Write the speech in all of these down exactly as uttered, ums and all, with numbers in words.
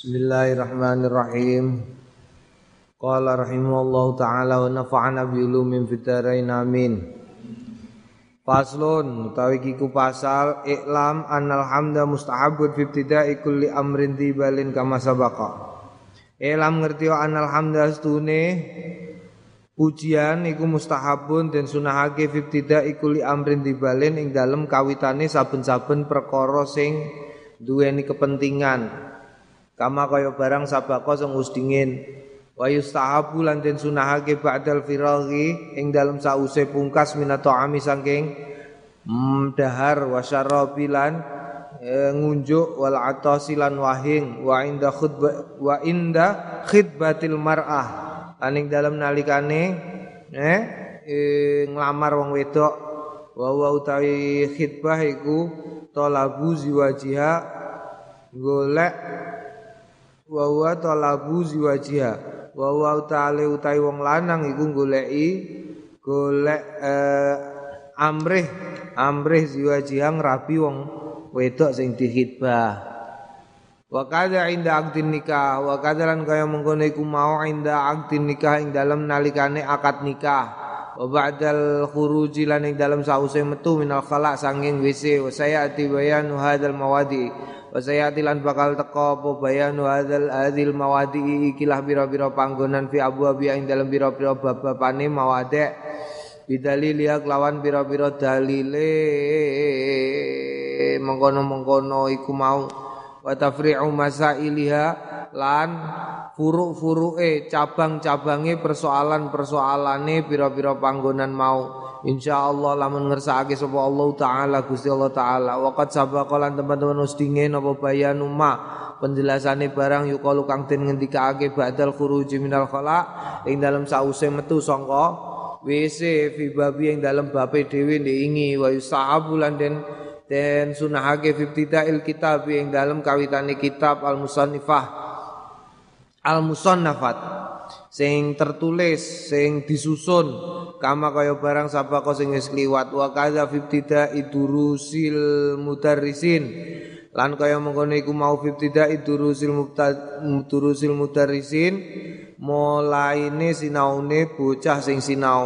Bismillahirrahmanirrahim. Qala rahimahullahu ta'ala wa nafa'ana bi ulumin fid dharain amin. Faslun utawi kiku pasal i'lam annal hamda mustahabun fi ibtida'i kulli amrin tibalin kama sabaqa. I'lam ngerti wa annal hamda astune pujian iku mustahabun den sunahake fi ibtida'i kulli amrin tibalin ing dalem kawitane saben-saben perkara sing duweni kepentingan. Kama kaya barang sabako sing wis dingin wa yustahabu lan den sunahake ba'dal firaghi ing dalem sause pungkas minato ami saking mm, dahar wa syarabilan e, ngunjuk wal atasilan wahing wa inda khutbah wa inda khidbatil mar'ah lan ing dalem nalikane eh e, nglamar wong wedok wa wa utawi khidbah iku talabu ziwajiha golek wa wa talabu ziwajiha wa wa ta'ala utai wong lanang iku goleki golek eh, amrih amrih ziwajiha ngrabi wong wedok sing dikhitbah wa kadza inda aqdin nikah wa kadzalan kaya mengkono iku mau inda aqdin nikah ing dalem nalikane akad nikah wa ba'dal khuruji lan ing dalem sause metu minal khala sanging W C wa sayati bayanu hadzal mawadi wa sayati lan bakal teka apa bayanu hadzal adzil mawadi ikilah bira-bira panggonan fi abwabi ing dalem bira-bira bab-babane mawade bidalil ya kelawan bira-bira dalile mengkono-mengkono iku mau wa tafri'u masailiha lan furu-furuke cabang-cabange persoalan-persoalane pira-pira panggonan mau insyaallah lamun ngersakake sapa Allah taala Gusti Allah taala waqat sabaqa lan teman-teman wis dingin apa bayanu ma penjelasane barang yukalu kang den ngendikake ba'dal khuruji minal khala ing dalem sause metu sangka W C fi babi ing dalem babe dhewe ndingi wa yusahabu lan den den sunahake fi ibtida'il kitab ing dalem kawitane kitab al-musannifah al-musannafat sing tertulis sing disusun kama kaya barang sabako sing wis kliwat wa kadza fi ibtida'i durusil mudarrisin lan kaya mengkono iku mau fi ibtida'i durusil mudurusil mudarrisin mulaine sinaune bocah sing sinau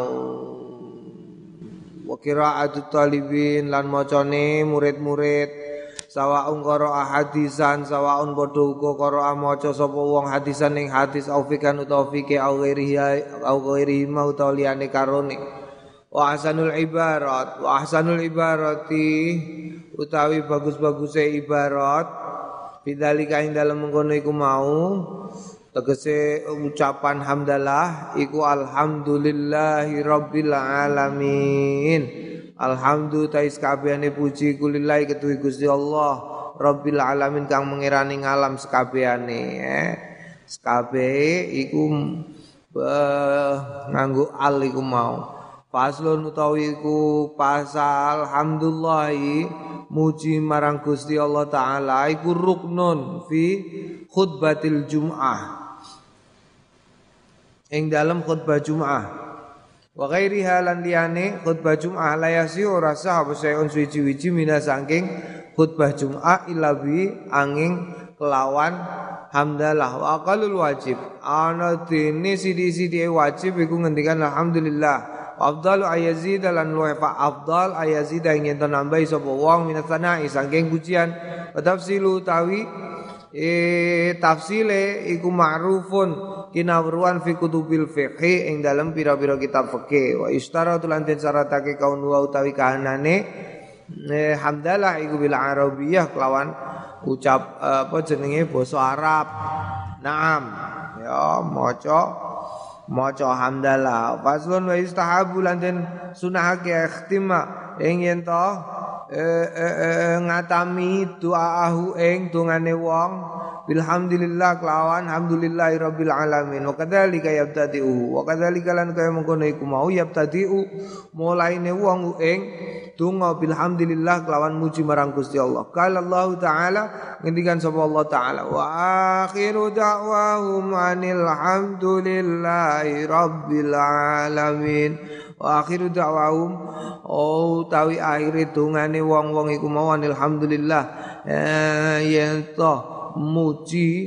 wa qira'atut talibin lan macane murid-murid sawaun qara'a hadisan sawaun padha uga qara'a maca sapa wong hadisan ing hadis au fikan utawa fike au ghairihi au ghairihi mau utawa liyane karone wa ahsanul ibarat wa ahsanul ibarati utawi bagus-baguse ibarat bidzalika ing dalem mengkono iku mau tegese ucapan hamdalah iku alhamdulillahi rabbil alamin. Alhamdulillah tais kabehane puji kulillahi ketuwi Gusti Allah Rabbil alamin kang mengirani ngalam sekabehane eh sekabehe iku nganggo al iku mau faslun utawi iku pasal hamdulillahi muji marang Gusti Allah taala iku ruknun fi khutbatil jum'ah ing dalam khutbah Jum'ah wa ghairiha lan liyane khutbah Jum'ah la yasi ora sah apa saeun suci-wici mina saking khutbah Jum'ah illa bi angin kelawan hamdalah wa aqallul wajib ana dene sidi-sidi wajib iku ngendikan alhamdulillah afdalu ayazid lan luwe fa afdal ayazid ing yen nambahi sapa wong minasana'i saking pujian wa tafsilu tawi e tafsile iku ma'rufun kinawruan fi kutubil fiqh ing dalam pira-pira kitab fikih wa istaratu lan den syaratake kaun wa utawi kahanane eh, hamdalah iku bil arabiyah kelawan ucap apa jenenge basa Arab. Naam ya maca maca hamdalah faslun wa istahabu lan den sunahake ikhtima ing yen to eh, eh, eh, ngatami doahu ing dongane wong bilhamdulillah kelawan hamdulillahi rabbil alamin wa kadzalika yabtadi'u wa kadzalika lan kaya mengkono iku mau yabtadi'u mulaine wong ing donga bilhamdulillah kelawan muji marang Gusti Allah qala Allah taala ngendikan sapa Allah taala wa akhiru da'wahum anil hamdulillahi rabbil alamin wa akhiru da'wahum oh tawi akhire dongane wong-wong iku mau alhamdulillah eh yen to muji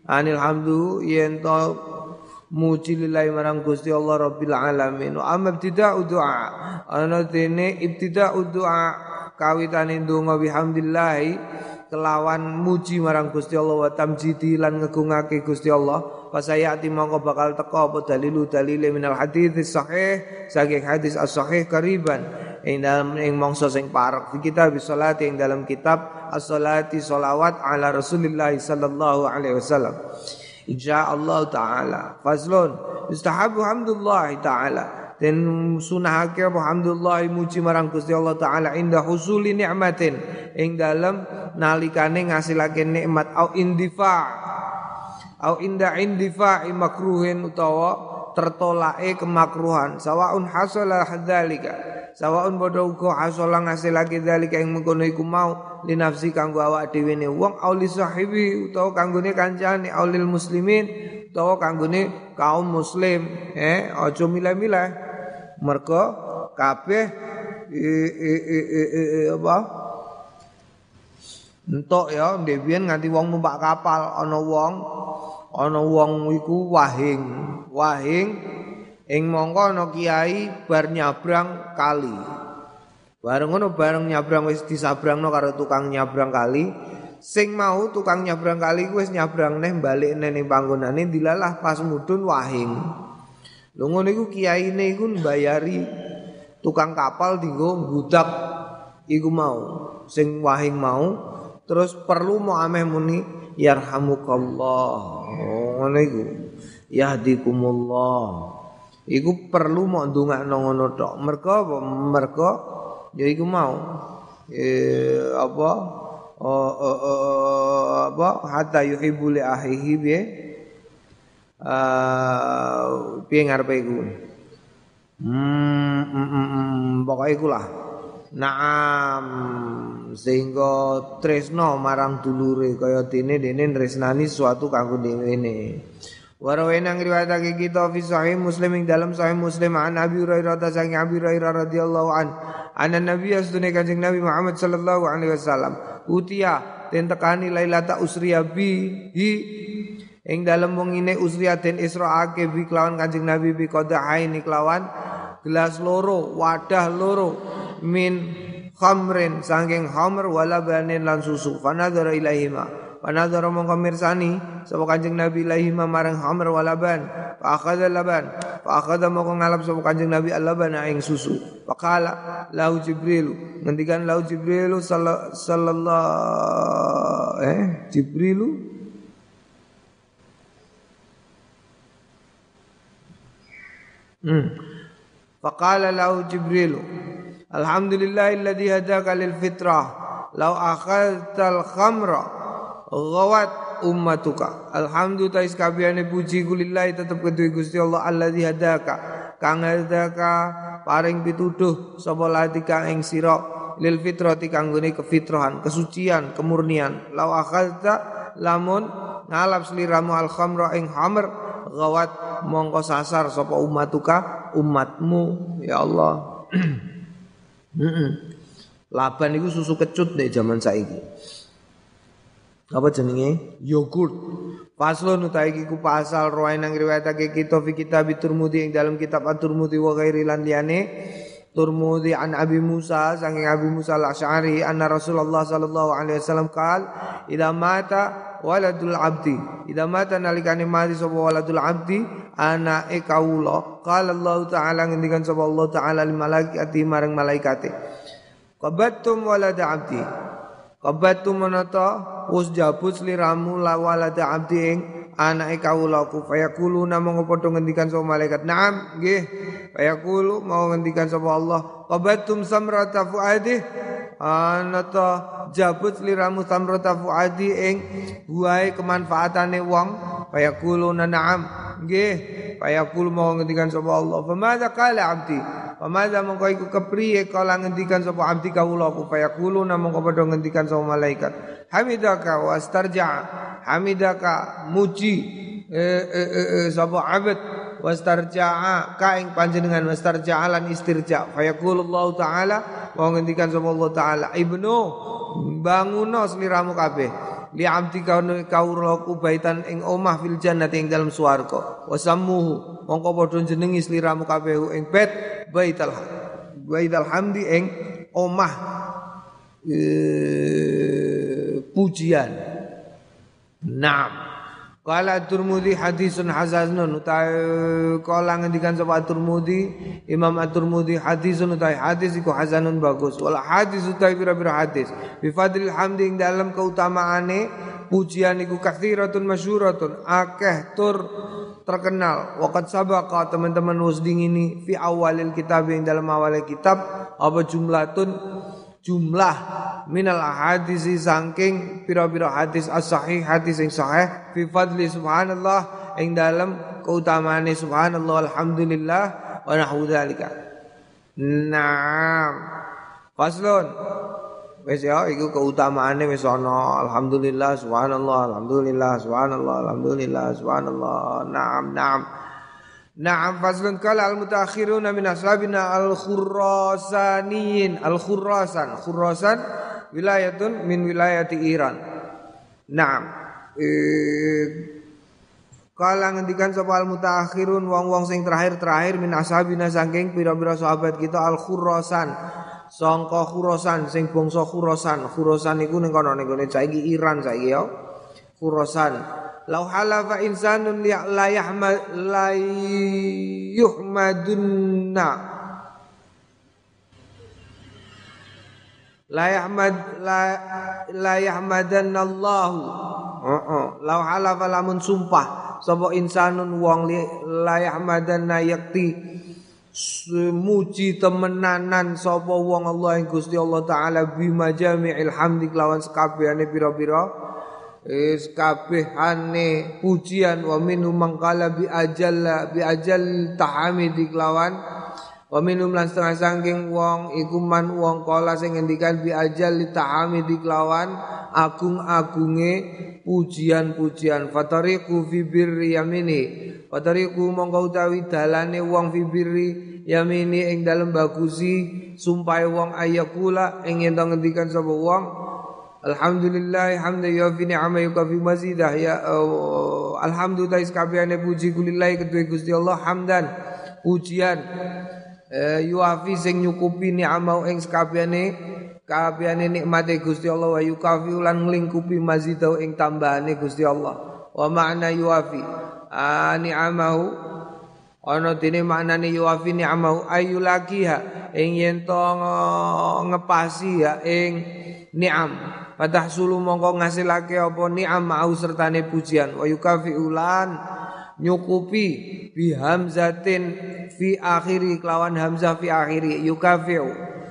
anil hamdu yen to muji lillahi marang Gusti Allah Rabbil alamin. Wa amma ibtida'u du'a ana dene ibtida'u du'a kawitane ndonga bihamdillahi kelawan muji marang Gusti Allah wa tamjidi lan ngegungake Gusti Allah. Fasayati mongko bakal teka apa dalilu dalile minal hadits sahih saking hadis as-sahih kariban ing dalam ing mangsa sing parek fi kitab salati ing dalam kitab as-salati sholawat ala Rasulillah sallallahu alaihi wasallam. Insyaallah taala. Fazlun yustahabu hamdulillah taala. Dan sunahake alhamdulillah muji marang Gusti Allah taala inda husuli nikmatin ing dalam nalikane ngasilake nikmat au indifa au inda indifa'i makruhin utawa tertolake kemakruhan sawaun hasala hadzalika sawaun padha uga hasala ngasilake dzalika ing mengkono iku mau li nafsi kanggo awak dhewe ne wong au li sahibi utawa kanggone kancane au lil muslimin utawa kanggone kaum muslim eh aja milah-milah mergo kabeh apa entuk ya ndhewen nganti wong numpak kapal ana wong ana wong iku wahing wahing ing mongko ana kiai bar nyabrang kali bareng ngono bareng nyabrang wis disabrangno karo tukang nyabrang kali sing mau tukang nyabrang kali wis nyabrang neh balik neh ning panggonane dilalah pas mudhun wahing lho ngono iku kiyaine iku mbayari tukang kapal dienggo nggudak iku mau sing wahing mau terus perlu mau ameh muni yarhamukallah. Oh ngono iku. Yahdikumullah. Iku perlu mau ndongakno ngono tok. Mergo apa? Mergo ya iku mau. Eh apa? Oh, oh, oh, apa? Hatta yuhibbu li akhihi bi. Eh piye ngarepe iku? Hmm, mm, mm, mm, pokoke iku lah. Naam sehingga tresno marang dulure kaya dene dene tresnani suatu kanggo dene. Warawena ngriwayatake kita fi sahih Muslim ing dalam sahih Muslim an Abi Hurairah saking Abi Hurairah radhiyallahu an anna Nabi asdune Kanjeng Nabi Muhammad sallallahu alaihi wasallam utia den tekani lailata usriya bi hi ing dalam wengine usriya den israake bi kelawan Kanjeng Nabi bi qadahain kelawan gelas loro wadah loro min khamrin saking khamr wala banin lan susu fanadzara ilaihima fanadzara mongko mirsani sapa Kanjeng Nabi ilaihima marang khamr wala ban fa akhadha laban fa akhadha mongko ngalap sapa Kanjeng Nabi al-laban ing susu faqala lahu Jibril ngendikan lahu Jibril sallallahu eh Jibril hmm faqala lahu Jibril alhamdulillahilladzi hadaka lil fitrah law akhadtal khamra ghawat ummatuka alhamdulillah iskabiyane puji kulillahi tetep kedue Gusti Allah alladzi hadaka kang hadaka paring pituduh sapa ladika ing sira lil fitrati kanggone kefitrahan kesucian kemurnian law akhadta lamun ngalap sliramu al khamra ing khamr ghawat mongko sasar sapa ummatuka umatmu ya Allah. Heeh. Laban iku susu kecut nek jaman saiki. Apa jenenge? Yogurt. Faslun utawi iki ku pasal ruwae nang riwayatake kita fi kitab Turmudi ing dalam kitab At-Turmudi wa ghairi lan liyane. Turmudi an Abi Musa saking Abi Musa Al-Asy'ari anna Rasulullah sallallahu alaihi wasallam qaal idza mata waladul abdi idza mata nalikane mati sapa waladul abdi anake kawula qala Allah taala ngendikan sapa Allah taala lil malaikati marang malaikate qabattum walada abdi qabattum manata wis jabut sliramu la walada abdi ing anake kawula ku fayaquluna monggo padha ngendikan sapa malaikat na'am nggih fayaqulu mau ngendikan sapa Allah qabattum samrata fuadi anata jabut sliramu samrata fuadi ing buahe kemanfaatane wong fayaquluna na'am nggih fayaqul mau ngendikan sapa Allah famadza qala abdi famadza mongko iku kepriye kala ngendikan sapa abdi kawula ku fayaquluna mongko padha ngendikan sapa malaikat hamidaka wastarja hamidaka muji eh, eh, eh, eh, sapa abad wastarja'a ka ing panjenengan wastarja'a lan istirja fayaqulullahu taala mau ngendikan sapa Allah taala ibnu banguno sliramu kabeh li abdi kaune kaulaku baitan ing omah fil jannati ing dalam swarga wasammuhu mongko padha jenengi sliramu kabeh ing bait baital baital hamdi ing omah e, pujian. Naam. Qala At-Tirmidzi hadisun hasanun utai kala ngendikan sapa At-Tirmidzi Imam At-Tirmidzi hadisun utai hadis iku hasanun bagus wala hadis utai pira-pira hadis bi fadlil hamdi ing dalam keutamaane pujian iku katsiratun masyhuratun akeh tur terkenal waqad sabaqa teman-teman wis dingini fi awalil kitab ing dalam awal kitab apa jumlatun jumlah minal ahadisi saking pira-pira hadis as-sahih hadis yang sahih fi fadli subhanallah ing dalam keutamaane subhanallah alhamdulillah wa nahwu dzalika. Naam. Faslun. Wis ya iku keutamaane wis ana alhamdulillah subhanallah alhamdulillah subhanallah alhamdulillah subhanallah. Naam naam. Na'am faslun kala al-mutaakhiruna min ashabina al-khurasaniyin al-khurasan khurasan wilayatun min wilayati Iran. Na'am eh, kala ngendikan sapa al-mutaakhirun wong-wong sing terakhir-terakhir min ashabina saking pira-pira sahabat kita al-khurasan sangka khurasan sing bangsa khurasan khurasan iku ning kono ning gone saiki Iran saiki ya khurasan. Lau halafa insanun la yahmad la yuhmadunna la yahmad la la yahmadanallahu heeh lau halafa lamun sumpah sapa insanun wong la yahmadanna yakti muji temenanan sapa wong Allah ing Gusti Allah taala bi majami'il hamdi lawan sekabehane pira-pira is kabehane pujian wa minhum mangkala bi ajalla bi ajal tahamidi kelawan wa minhum lan setengah saking wong iku man wong kala sing ngendikan bi ajal tahamidi kelawan agung-agunge pujian-pujian fatariqu fi birri yamini fatariqu mongko utawi dalane wong fi birri yamini ing dalem bagusi sumpahe wong ayakula ing yen ngendikan sapa wong alhamdulillah hamdan yufi ni'ama yukafi mazidah ya uh, alhamdulillah kabehane puji kulillah kedue Gusti Allah hamdan pujian uh, yufi sing nyukupi ni'ama ing sakabehane kabehane nikmate Gusti Allah wa yukafi lan nglingkupi mazidah ing tambahane Gusti Allah wa makna yufi uh, ni'amahu ana dene maknane yufi ni'amahu ayulakiha ing yen to ngepasi ya ing ni'am Fatah sulu mongko ngasilake apa ni'am mau sertane pujian wa yukafi ulan nyukupi bi hamzatin fi akhiri kelawan hamzah fi akhiri yukafi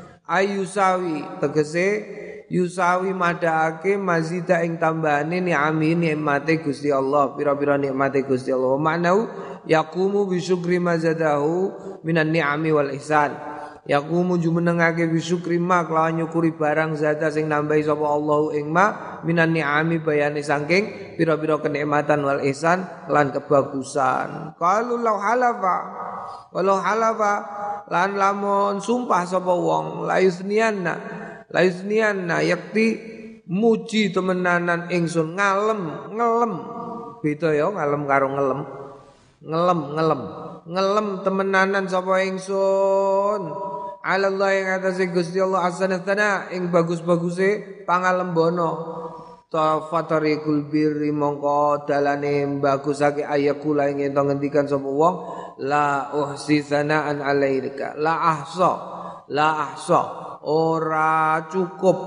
ayusawi tegese yusawi madhaake mazida ing tambahane ni'ami nikmate Gusti Allah pira-pira nikmate Gusti Allah maknau yaqumu bi syukri mazadahu minan ni'ami wal ihsan yaqumu jumenengake bisyukri ma kelawan nyukuri barang zata sing nambahi sapa Allahu ing ma minan ni'ami bayane saking pira-pira kenikmatan wal ihsan lan kebagusan qalu law halafa walau halafa lan lamun sumpah sapa wong la yusnianna la yusnianna yakti muji temenanan ingsun ngalem ngelem beda ya ngalem karo ngelem ngelem ngelem ngelem temenanan sapa ingsun Allah yang atase Gusti Allah hasanatana ing bagus-baguse pangalembono tafatarikul birri mongko dalane bagusake ayakula ing ento ngendikan sapa wong la uhsi sanaan alaika la ahsa la ahsa ora cukup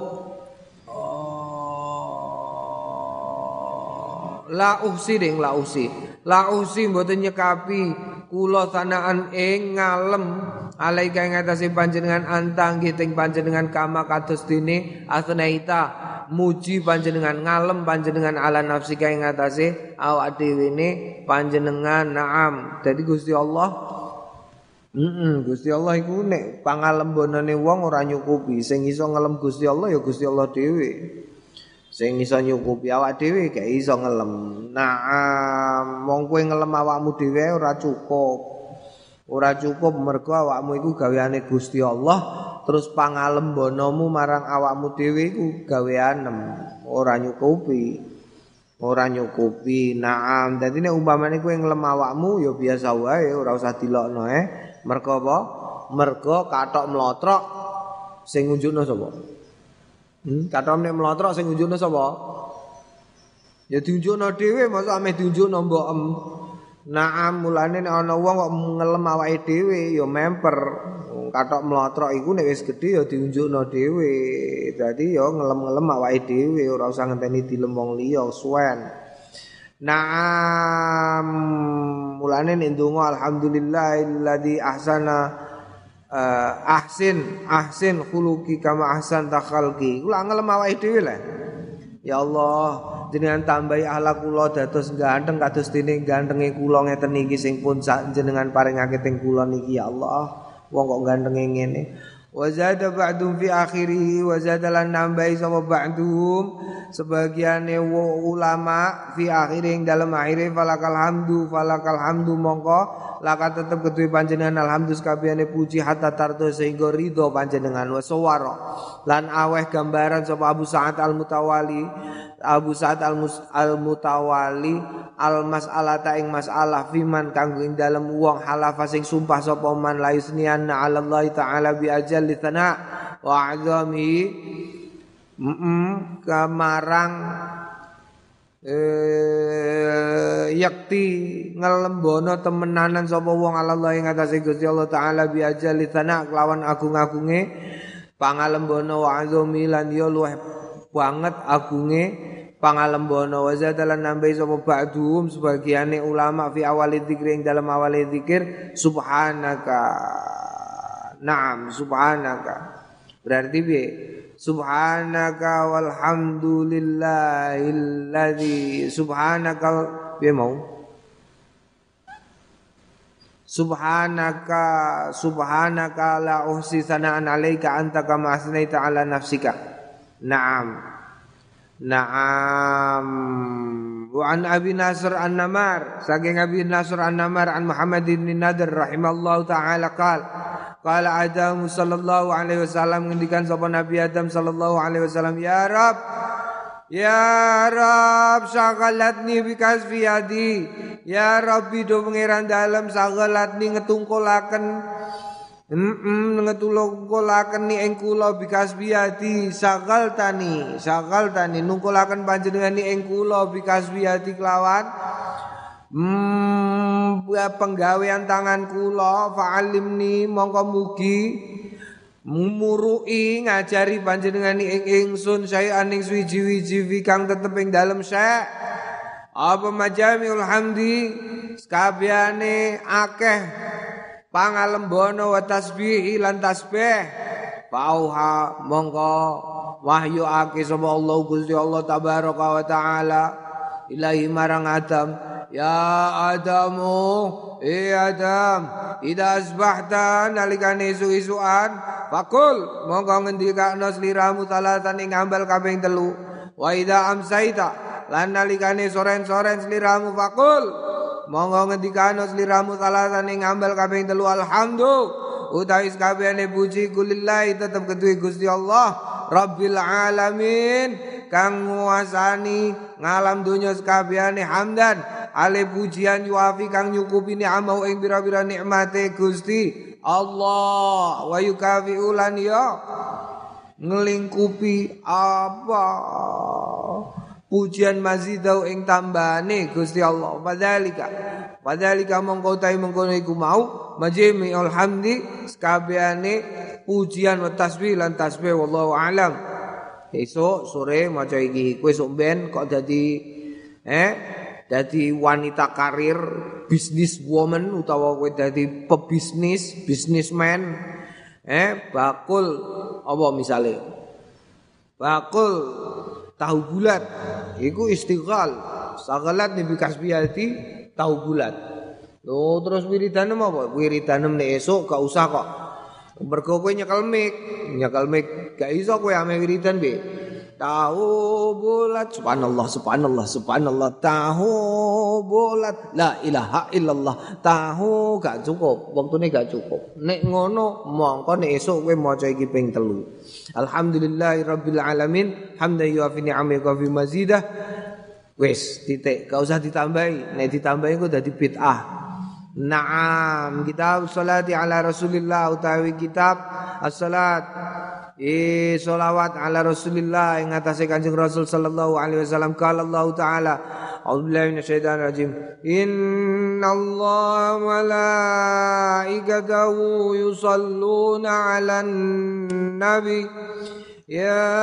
oh, la uhsi ding la uhsi la uhsi mboten nyekapi kula sanaan ing ngalem alaika ing atase panjenengan antang giting panjenengan kama kados dene asnaita muji panjenengan ngalem panjenengan ala nafsi ing atase awak dhewe ne panjenengan naam dadi Gusti Allah heeh Gusti Allah iku nek pangalembonane wong ora nyukupi sing iso ngelem Gusti Allah ya Gusti Allah dhewe sing iso nyukupi awak dhewe gak iso ngelem naam wong kowe ngelem awakmu dhewe ora cukup ora cukup mergo awakmu iku gaweane Gusti Allah terus pangalembonomu marang awakmu dhewe iku gaweanem, ora nyukupi. Ora nyukupi. Naam, dadi nek umpamane kowe nglem awakmu ya biasa wae, ora usah dilokno eh. Mergo apa? Mergo kathok mlotrok sing ngunjukno sapa? Hmm, kathok nek mlotrok sing ngunjukno sapa? Ya diunjukno dhewe, masa ameh diunjukno mbokem. Naam, mulane nek ana wong kok ngelem awake dhewe ya memper. Kathok mlotrok iku nek wis gedhe ya diunjukno dhewe. Dadi ya ngelem-ngelem awake dhewe, ora usah ngenteni dilem wong liya suwen. Naam, mulane nek ndonga alhamdulillahilladzi ahsana uh, ahsin ahsin khuluqi kama ahsan takhalqi. Kula ngelem awake dhewe lah. Ya Allah, jenengan tambahi akhlak kula dados ganteng kados dene gantenge kula ngeten iki sing pun jenengan paringake teng kula niki ya Allah. Wong kok gantenge ngene. Wa zada ba'dum fi akhirih wa zada lan nambahi sama ba'dum sebagiane ulama fi akhiring dalam akhire falakal hamdu falakal hamdu mongko laka tetep ketuwe panjenengan alhamdulillah sakabehane puji hatta tardo sehingga ridho panjenengan wa sawara lan aweh gambaran sapa Abu Sa'ad al-Mutawali Abu Sa'ad al-Mutawali al-mas'alata ing masalah fiman kanggo ing dalem wong halafa sing sumpah sapa man la yusnianna 'ala Allah taala bi ajalli thana wa 'azami mm kamarang eh yakti ngelembono temenanan sapa wong Allah ing atase Gusti Allah taala bi ajalli thana kelawan agung-agunge pangalembono wa 'azami lan ya luweh banget agunge pangalembono wa zadalan nambahi sapa ba'dhum sebagiane ulama fi awali dzikir ing dalam awali dzikir subhanaka. Naam, subhanaka. Berarti piye? Subhanaka walhamdulillahilladzi subhanaka piye mau? Subhanaka subhanaka la uhsi sana'an 'alaika anta kama asnaita 'ala nafsika. Naam. Naam. Wa an Abi Nasr An-Namar, saking Abi Nasr An-Namar an Muhammad bin Nadir rahimallahu taala qala qala Adam sallallahu alaihi wasallam ngendikan sapa Nabi Adam sallallahu alaihi wasallam ya Rabb ya Rabb sagalatni bikasfi yadi ya Rabbi do pangeran dalem sagalatni ngetungkulaken Mm ngetulungkulaken ni ing kula bikas biati sagal tani sagal tani nungkulaken panjenengan ni ing kula bikas biati kelawan mm penggawean tangan kula fa'alimni mongko mugi mumurui ngajari panjenengan ni ing ingsun saean ing suwi-wiji kang tetep ing dalem syek apa majamiul hamdi sakabehane akeh pangalembono wa tasbih lan tasbih pauha mongko wahyu ake sapa Allah Gusti Allah tabaraka wa taala ilahi marang Adam ya Adamu e Adam ida asbahta nalikane isu-isuan fakul mongko ngendikakno sliramu salatan ing ambal kaping telu wa ida amsaita lan nalikane soren-soren sliramu fakul monggo ngendikano sliramu salatan ing ambal kaping telu alhamdulillah utawi sakabehane puji kulillahi tetep keduwe Gusti Allah Rabbil alamin kang nguasani ngalam donya sakabehane hamdan ale pujian yuafi kang nyukupi ni'amau ing pira-pira nikmate Gusti Allah wa yukafi ulan ya ngelingkupi apa pujian mazidau ing tambane Gusti Allah padhalika padhalika mongko utahe mengkono iku mau majmi'ul hamdi sakabehane pujian wa tasbih lan tasbih wallahu alam. Esuk sore maca iki kowe sok ben kok dadi eh dadi wanita karir business woman utawa kowe dadi pebisnis businessman eh bakul apa misale bakul tahu bulat iku istighal sagalat ni bikasbiyati tahu bulat lho terus wiridanem apa wiridanem nek esuk gak usah kok mergo kowe nyekel mik nyekel mik gak iso kowe ame wiridan be tahu bulat. Subhanallah, subhanallah, subhanallah. Tahu bulat, la ilaha illallah. Tahu gak cukup, waktune gak cukup. Nek ngono mongko nek esuk kowe maca iki ping telu. Alhamdulillahirabbil alamin, hamdan yuafi ni'amahu wa fi mazidah. Wis titik, gak usah ditambahi. Nek ditambahi kok dadi bid'ah. Naam, kitab salati ala Rasulillah utawi kitab as-salat eh selawat ala Rasulillah ing atase Kanjeng Rasul sallallahu alaihi wasallam. Qala Allah taala a'udzubillahi minasyaitonir rajim. Innallaha wa malaikatahu yusholluna 'alan nabi ya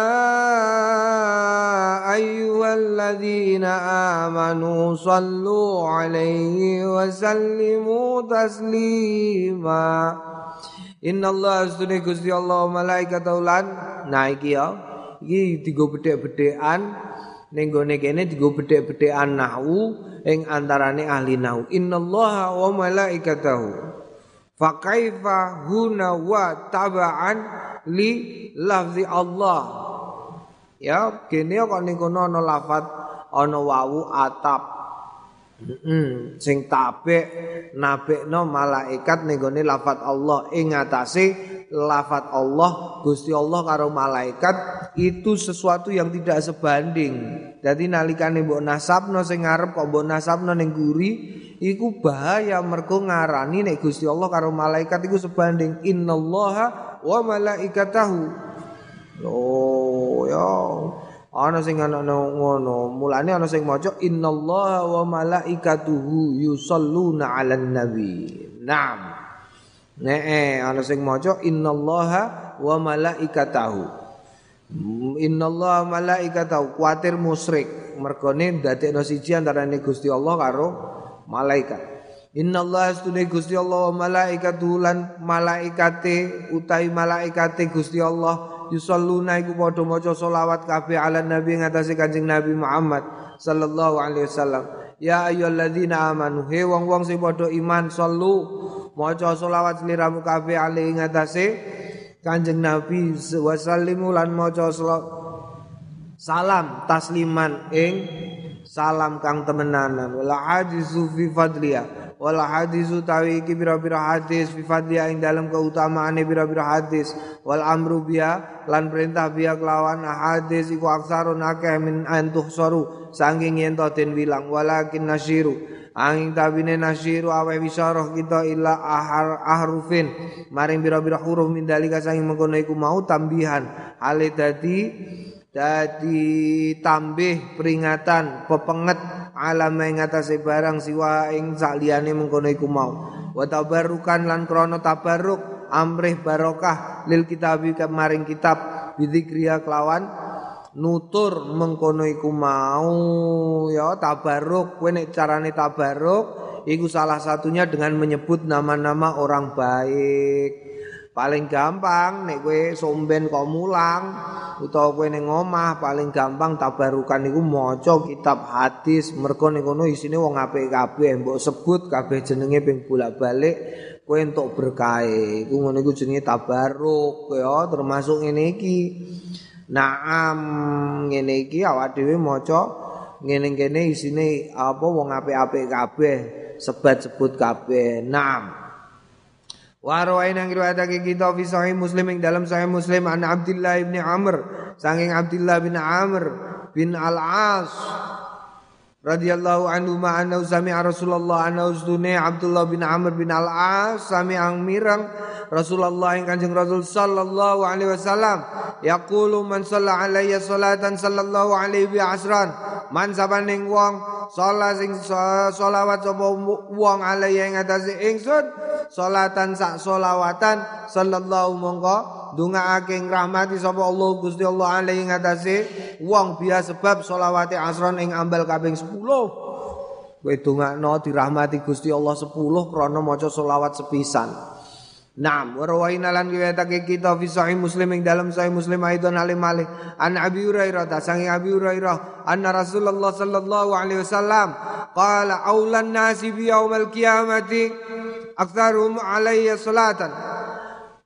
ayyuhalladzina amanu sallu 'alaihi wa sallimu taslima. Innallaha astune Gusti Allah malaikatahu lan nah iki ya iki digo bedhek-bedhekan ning gone kene digo bedhek-bedhekan nahwu ing antarane ahli nahwu. Innallaha wa malaikatahu fa kaifa huna wa taba'an li lafzi Allah. Ya kene kok ning kono ana lafat ana wawu atap. Heeh, sing tabek nabekno malaikat ning gone lafat Allah ing atase lafat Allah Gusti Allah karo malaikat itu sesuatu yang tidak sebanding. Dadi nalikane mbok nasabno sing ngarep kok mbok nasabno ning guri iku bahaya mergo ngarani nek Gusti Allah karo malaikat iku sebanding. Innallaha wa malaikatahu. Oh ya ana sing ana ngono, mulane ana sing maca innallaha wa malaikatuhu yusholluna 'alan nabi. Naam. Nek ana sing maca innallaha wa malaikatahu. Innallaha wa malaikatahu kuwatir musyrik, mergone ndadekno siji antarane Gusti Allah karo malaikat. Innallaha astune Gusti Allah wa malaikatuhu lan malaikate utawi malaikate Gusti Allah yusalluna iku padha maca selawat kabeh ala nabi ngatasi Kanjeng Nabi Muhammad sallallahu alaihi wasallam. Ya ayyuhalladzina amanu he wong-wong sing padha iman sallu maca selawat sliramu kabeh ali ngatasi Kanjeng Nabi wasallimu lan maca salam tasliman ing salam kang temenanan. Wala hadisu fi fadliya wala hadisu tawi iki pira-pira hadis fi fadliya ing dalam keutamaane pira-pira hadis wal amru biya lan perintah biya kelawan hadis iku aksarun akeh min antuhsaru saking yen to den wilang. Walakin nasyiru angin tabine nasyiru awe wisyarah kita illa ahar ahrufin maring pira-pira huruf min dalika saking mengkono iku mau tambihan hale dadi dadi tambih peringatan pepenget alam ing atase barang siwa ing saliyane mengkono iku mau. Wa tabarrukan lan krana tabarruk amrih barokah lil kitabi kemaring kitab bidzikriya kelawan nutur mengkono iku mau. Ya tabarruk kowe nek carane tabarruk iku salah satunya dengan menyebut nama-nama orang baik. Paling gampang nek kowe somben kok mulang utawa kowe ning omah paling gampang tabarukan iku maca kitab hadis mergo ning kono isine wong apik kabeh mbok sebut kabeh jenenge ping bolak-balik kowe entuk berkah. Iku ngono iku jenenge tabaruk ya termasuk ngene iki. Naam ngene iki awak dhewe maca ngene-ngene isine apa wong apik-apik kabeh sebat sebut kabeh. Naam. Wa rawaina ngriwayatake kita fi sahih Muslim ing dalam sahih Muslim an Abdullah bin Amr saking Abdullah bin Amr bin Al-As radhiyallahu anhu ma anna sami'a Rasulullah anna ustune Abdullah bin Amr bin Al-As sami'ang mirang Rasulullah ing Kanjeng Rasul sallallahu alaihi wasallam yaqulu man shalla alayya salatan sallallahu alaihi wa asran man sabaning wong salat sing selawat sapa wong alayya ing atase ingsun salatan sak selawatan sallallahu mongko ndongaake ngrahmati sapa Allah Gusti Allah alaihi ing atase wong biasa sebab selawate asron ing ambal kaping sepuluh. Kowe ndongakno dirahmati Gusti Allah sepuluh krana maca selawat sepisan. Naam, warawaina lan riwayatake kita fi sahih Muslim ing dalam sahih Muslim aidon alim malih an Abi Hurairah ta sangi Abi Hurairah anna Rasulullah sallallahu alaihi wasallam qala aulan nasi bi yaumil qiyamati aktsarum alayya salatan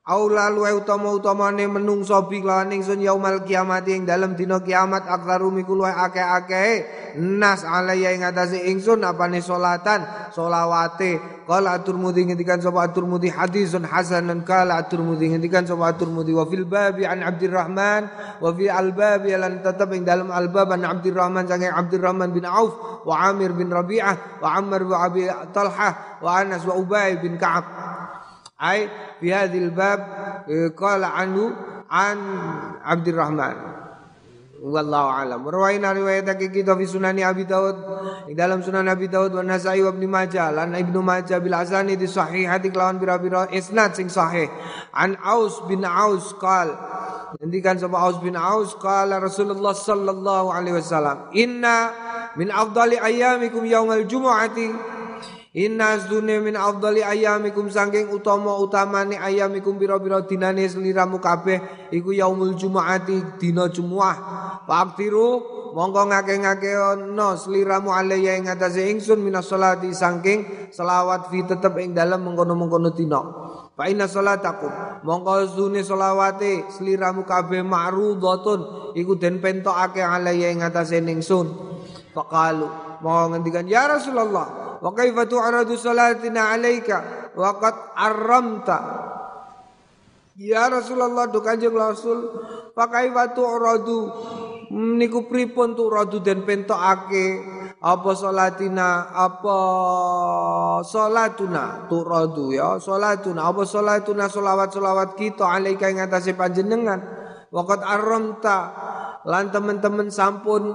Aula luwe utama-utamane menungso bi lawan ingsun yaumal kiamat ing dalem dina kiamat aktsaru miku luwe akeh-akeh nas alaya ing atase ingsun apane salatan selawate qala at-Tirmidzi ngendikan sapa at-Tirmidzi hadisun hasanun qala at-Tirmidzi ngendikan sapa at-Tirmidzi wa fil babi an Abdurrahman wa fi al-babi lan tetep ing dalem al-bab an Abdurrahman sange Abdurrahman bin Auf wa Amir bin Rabi'ah wa Ammar wa Abi Talhah wa Anas wa Ubay bin Ka'ab ay fi hadhil bab qala anhu an Abdurrahman wallahu alam rawaina riwayatake kita fi sunani Abi Daud ing dalam sunan Abi Daud wa Nasa'i wa Ibnu Majah lan Ibnu Majah bil asani di sahihati kelawan pira-pira isnad sing sahih an Aus bin Aus qal ngendikan sapa Aus bin Aus qala Rasulullah sallallahu alaihi wasallam inna min afdali ayyamikum yaumal jumu'ati Inna asdune min afdali ayyamikum sangking utama utamane ayyamikum pira-pira dinane sliramu kabeh iku yaumul jumu'ati dina Jumat. Faqtiru mongko ngake-ngakeana sliramu alaya ing atase ingsun minas sholati sangking selawat fi tetep ing dalem mengkono-mengkono dina. Fa inna sholatakum mongko asdune selawate sliramu kabeh ma'rudatun iku den pentokake alaya ing atase ingsun. Faqalu mau ngendikan ya Rasulullah wa kaifa tu'radu salatina 'alaika wa qad arramta ya Rasulullah do Kanjeng Rasul fa kaifa tu'radu niku pripun tu'radu den pentokake apa salatina apa salatuna tu'radu ya salatuna apa salatuna selawat-selawat kita 'alaika ing atase panjenengan wa qad arramta lan teman-teman sampun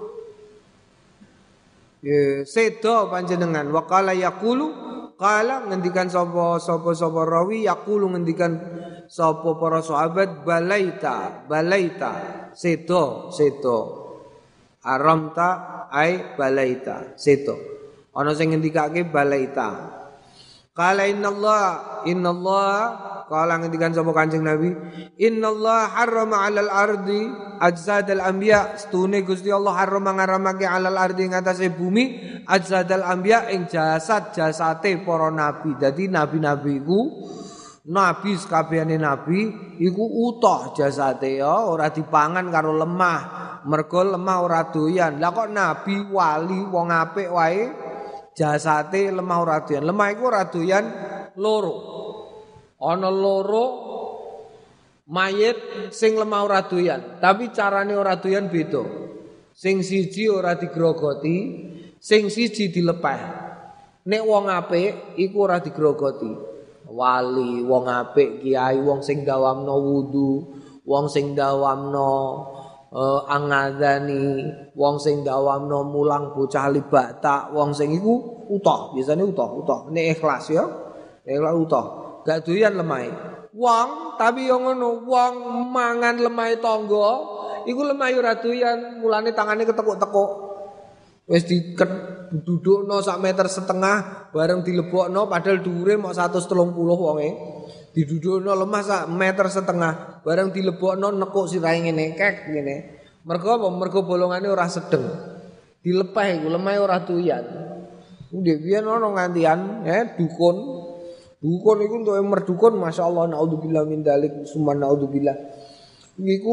Ya, sedo panjenengan waqala yaqulu qala ngendikan sapa sapa sapa rawi yaqulu ngendikan sapa para sahabat balaita balaita sedo sedo aramta ai balaita sedo ana sing ngendikake balaita qala innallaha innallaha qala ngendikan sapa Kanjeng Nabi innallaha harrama 'alal ardi ajsadal anbiya stune Gusti Allah haram ngaramake 'alal ardi ing atase bumi ajsadal anbiya ing jasad-jasate para nabi. Dadi nabi-nabi iku nabi sakabehane nabi iku utuh jasate ya ora dipangan karo lemah. Mergo lemah ora doyan. Lah kok nabi wali wong apik wae jasate lemah ora doyan. Lemah iku ora doyan loro. Ana loro mayit sing lemah ora doyan, tapi carane ora doyan beda. Sing siji ora digrogoti, sing siji dilepeh. Nek wong apik iku ora digrogoti. Wali, wong apik, kiai, wong sing dawamno wudu, wong sing dawamno uh, angadani, wong sing dawamno mulang bocah libata, wong sing iku utuh, biasane utuh, utuh. Nek ikhlas ya, ikhlas utuh. Gak doyan lemah. Wong tapi yo ngono, wong mangan lemah tangga, iku lemah ora doyan, mulane tangane ketekuk-tekuk. Wis didudukno sak meter setengah bareng dilebokno padahal dhuwure mok seratus tiga puluh wonge. Didudukno lemah sak meter setengah bareng dilebokno nekuk sirahe ngene, kek ngene. Mergo apa? Mergo bolongane ora sedeng. Dilepeh iku lemah ora doyan. Ndek biyen ana ngantian, eh dukun Dukun iku untuk merdukun masyaallah naudzubillah min dzalik summa naudzubillah. Iku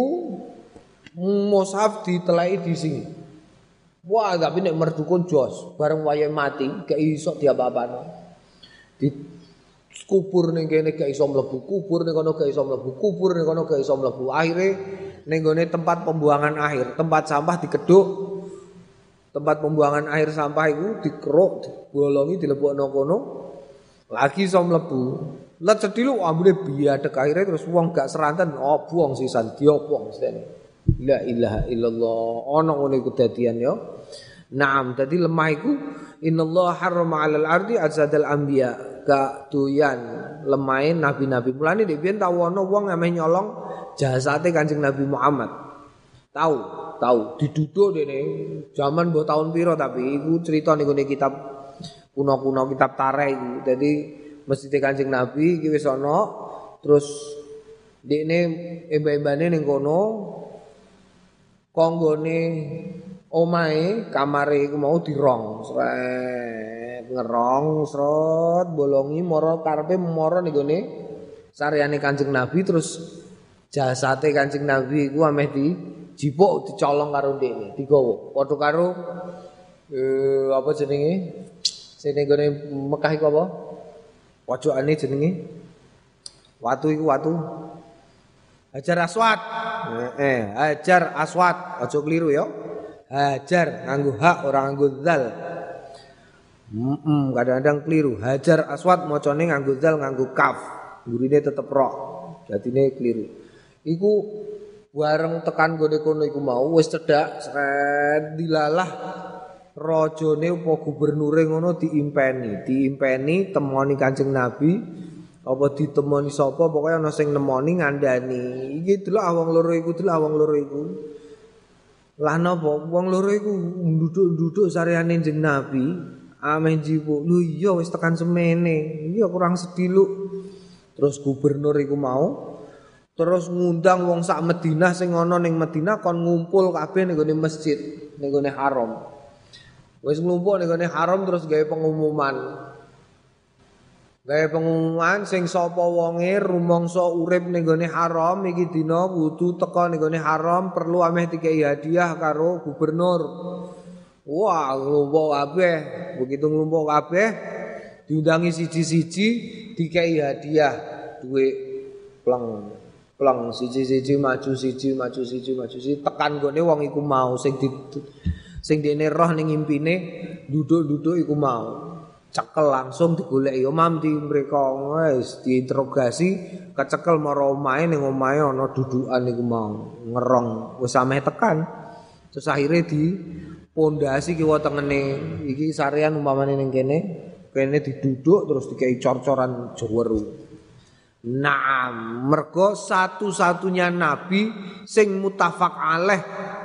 mushaf diteleki di sini. Wah, tapi nek merdukun jos, bareng wayahe mati gak iso diapa-apano. Di kubur ning kene gak iso mlebu, kubur ning kono gak iso mlebu, kubur ning kono gak iso mlebu. Akhire ning gone tempat pembuangan akhir, tempat sampah dikeduk. Tempat pembuangan akhir sampah iku dikeruk, dibolongi dilebokno kono. Lagi iso mlebu. Let sedilu ambune biadek akhire terus wong gak seranten oh buang sisan diopong mestene. La ilaha illallah. Ana ngene kedadian ya. Naam, dadi lemah iku innallaha harrama 'alal ardi azadal anbiya. Gak doyan lemahe nabi-nabi. Mulane nek biyen tau ana wong ameh nyolong jasate Kanjeng Nabi Muhammad. Tahu, tahu diduduk dene zaman mbok tahun piro tapi iku cerita ning kitab kuno-kuno kitab tarikh iku. Dadi Masjid Kanjeng Nabi iki wis ana terus dekne emba-embane ning kono konggone omahe kamare iku mau dirong sret ngerong sret bolongi mara karepe mara ning gone saryane Kanjeng Nabi terus jasate Kanjeng Nabi iku ameh di jipuk dicolong karo ndekne, digawa. Padha karo eh apa jenenge? Sing nggone Mekah iku apa? Pojokane jenenge watu iku watu Hajar Aswad. Eh, Hajar Aswad, aja keliru ya. Hajar nganggo hak ora nganggo zal. Heeh, kadang-kadang keliru. Hajar Aswad macane nganggo zal nganggo kaf. Gurine tetep ro. Jatine keliru. Iku bareng tekan gone kono iku mau wis cedhak sret dilalah rajane apa gubernure ngono diimpeni, diimpeni temoni Kanjeng Nabi. Apa ditemoni sapa pokoke ana sing nemoni ngandani. Iki delok wong loro iku, delok wong loro iku. Lah napa wong loro iku nduduk-nduduk saryane Kanjeng Nabi, ameh jiwo. Lho iya wis tekan semene. Iya kurang sediluk. Terus gubernur iku mau terus ngundang wong sak Madinah sing ana ning Madinah kon ngumpul kabeh ning gone masjid, ning gone haram. Wis ngumpul ning gone haram terus gawe pengumuman. Gawe pengumuman sing sapa wonge rumangsa urip ning gone haram iki dina wudu teka ning gone haram perlu ameh dikai hadiah karo gubernur. Wah, nglumpuk kabeh. Begitu nglumpuk kabeh diundangi siji-siji dikai hadiah duit pleng. Pleng siji-siji maju siji maju siji maju siji tekan gone wong iku mau sing di sing dene roh ning impine duduk-duduk iku mau. Cekel langsung digoleki omam di mereka wis diinterogasi kecekel marang omahe ning omahe ana dudukan iku mau ngerong wis sampe tekan terus akhire di pondasi kiwa tengene iki sarean umpamane ning kene kene diduduk terus dikai cor-coran jeweru. Nah, mergo satu-satunya nabi sing mutafak alaih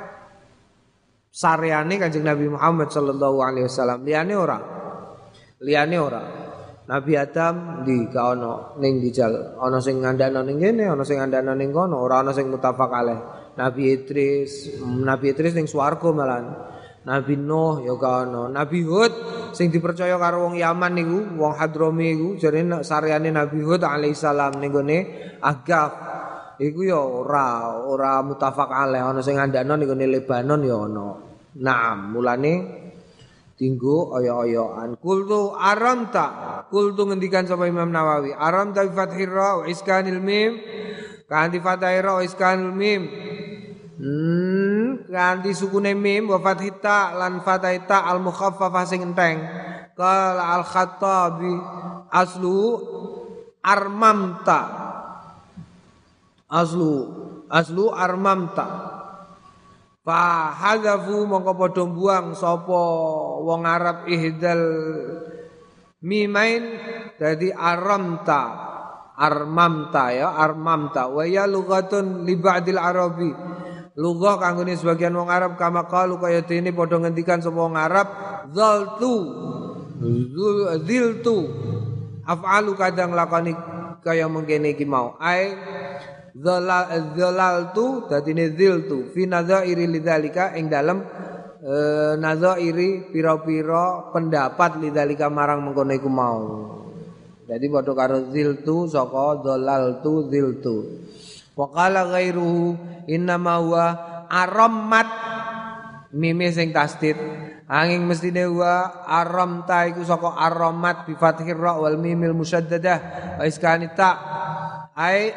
sareane Kanjeng Nabi Muhammad sallallahu alaihi wasallam liyane ora. Liyane ora. Nabi Adam di ka ono ning dijal, ana sing ngandhana ning kene, ana sing ngandhana ning kono, ora ana sing mutafak alaih. Nabi Idris, Nabi Idris ning swarga malan. Nabi Nuh ya ka ono. Nabi Hud sing dipercaya karo wong Yaman niku, wong Hadrami iku jarene sareane Nabi Hud alaihissalam ning gone Agaf. Iku ya ora ora mutafak alaih, ana sing ngandhana ning gone Lebanon ya ana. Nah, mulane tinggu oyo-oyoan. Kultu aramta. Kultu ngendikan sapa Imam Nawawi. Aramta bi fathir ra wa iskanil mim. Kanthi fathir ra wa iskanil mim. Hmm, kanthi sukune mim wa fathita lan fathita al mukhaffafah sing enteng. Qala al Khattabi aslu armamta. Aslu aslu armamta. Fa hadzafu mongko padha buang sapa wong Arab ihdal mimain dadi aramta armamta ya armamta wa ya lughatun li ba'dil arabi lughah kanggone sebagian wong Arab kama qalu kaya dene padha ngendikan sapa wong Arab zaltu ziltu af'alu kadang lakoni kaya mengkene iki mau ai Zalal zalaltu dadine ziltu fi nadzairi lidzalika ing dalem e, nadzairi pira-pira pendapat lidzalika marang mengkono iku mau. Dadi padha karo ziltu saka zalaltu ziltu. Wa qala ghairuhu inna ma huwa arammat mime sing tasdid angin mestine wa aramta iku saka arammat bi fathir ra wal mimil musyaddadah wa iskanita ai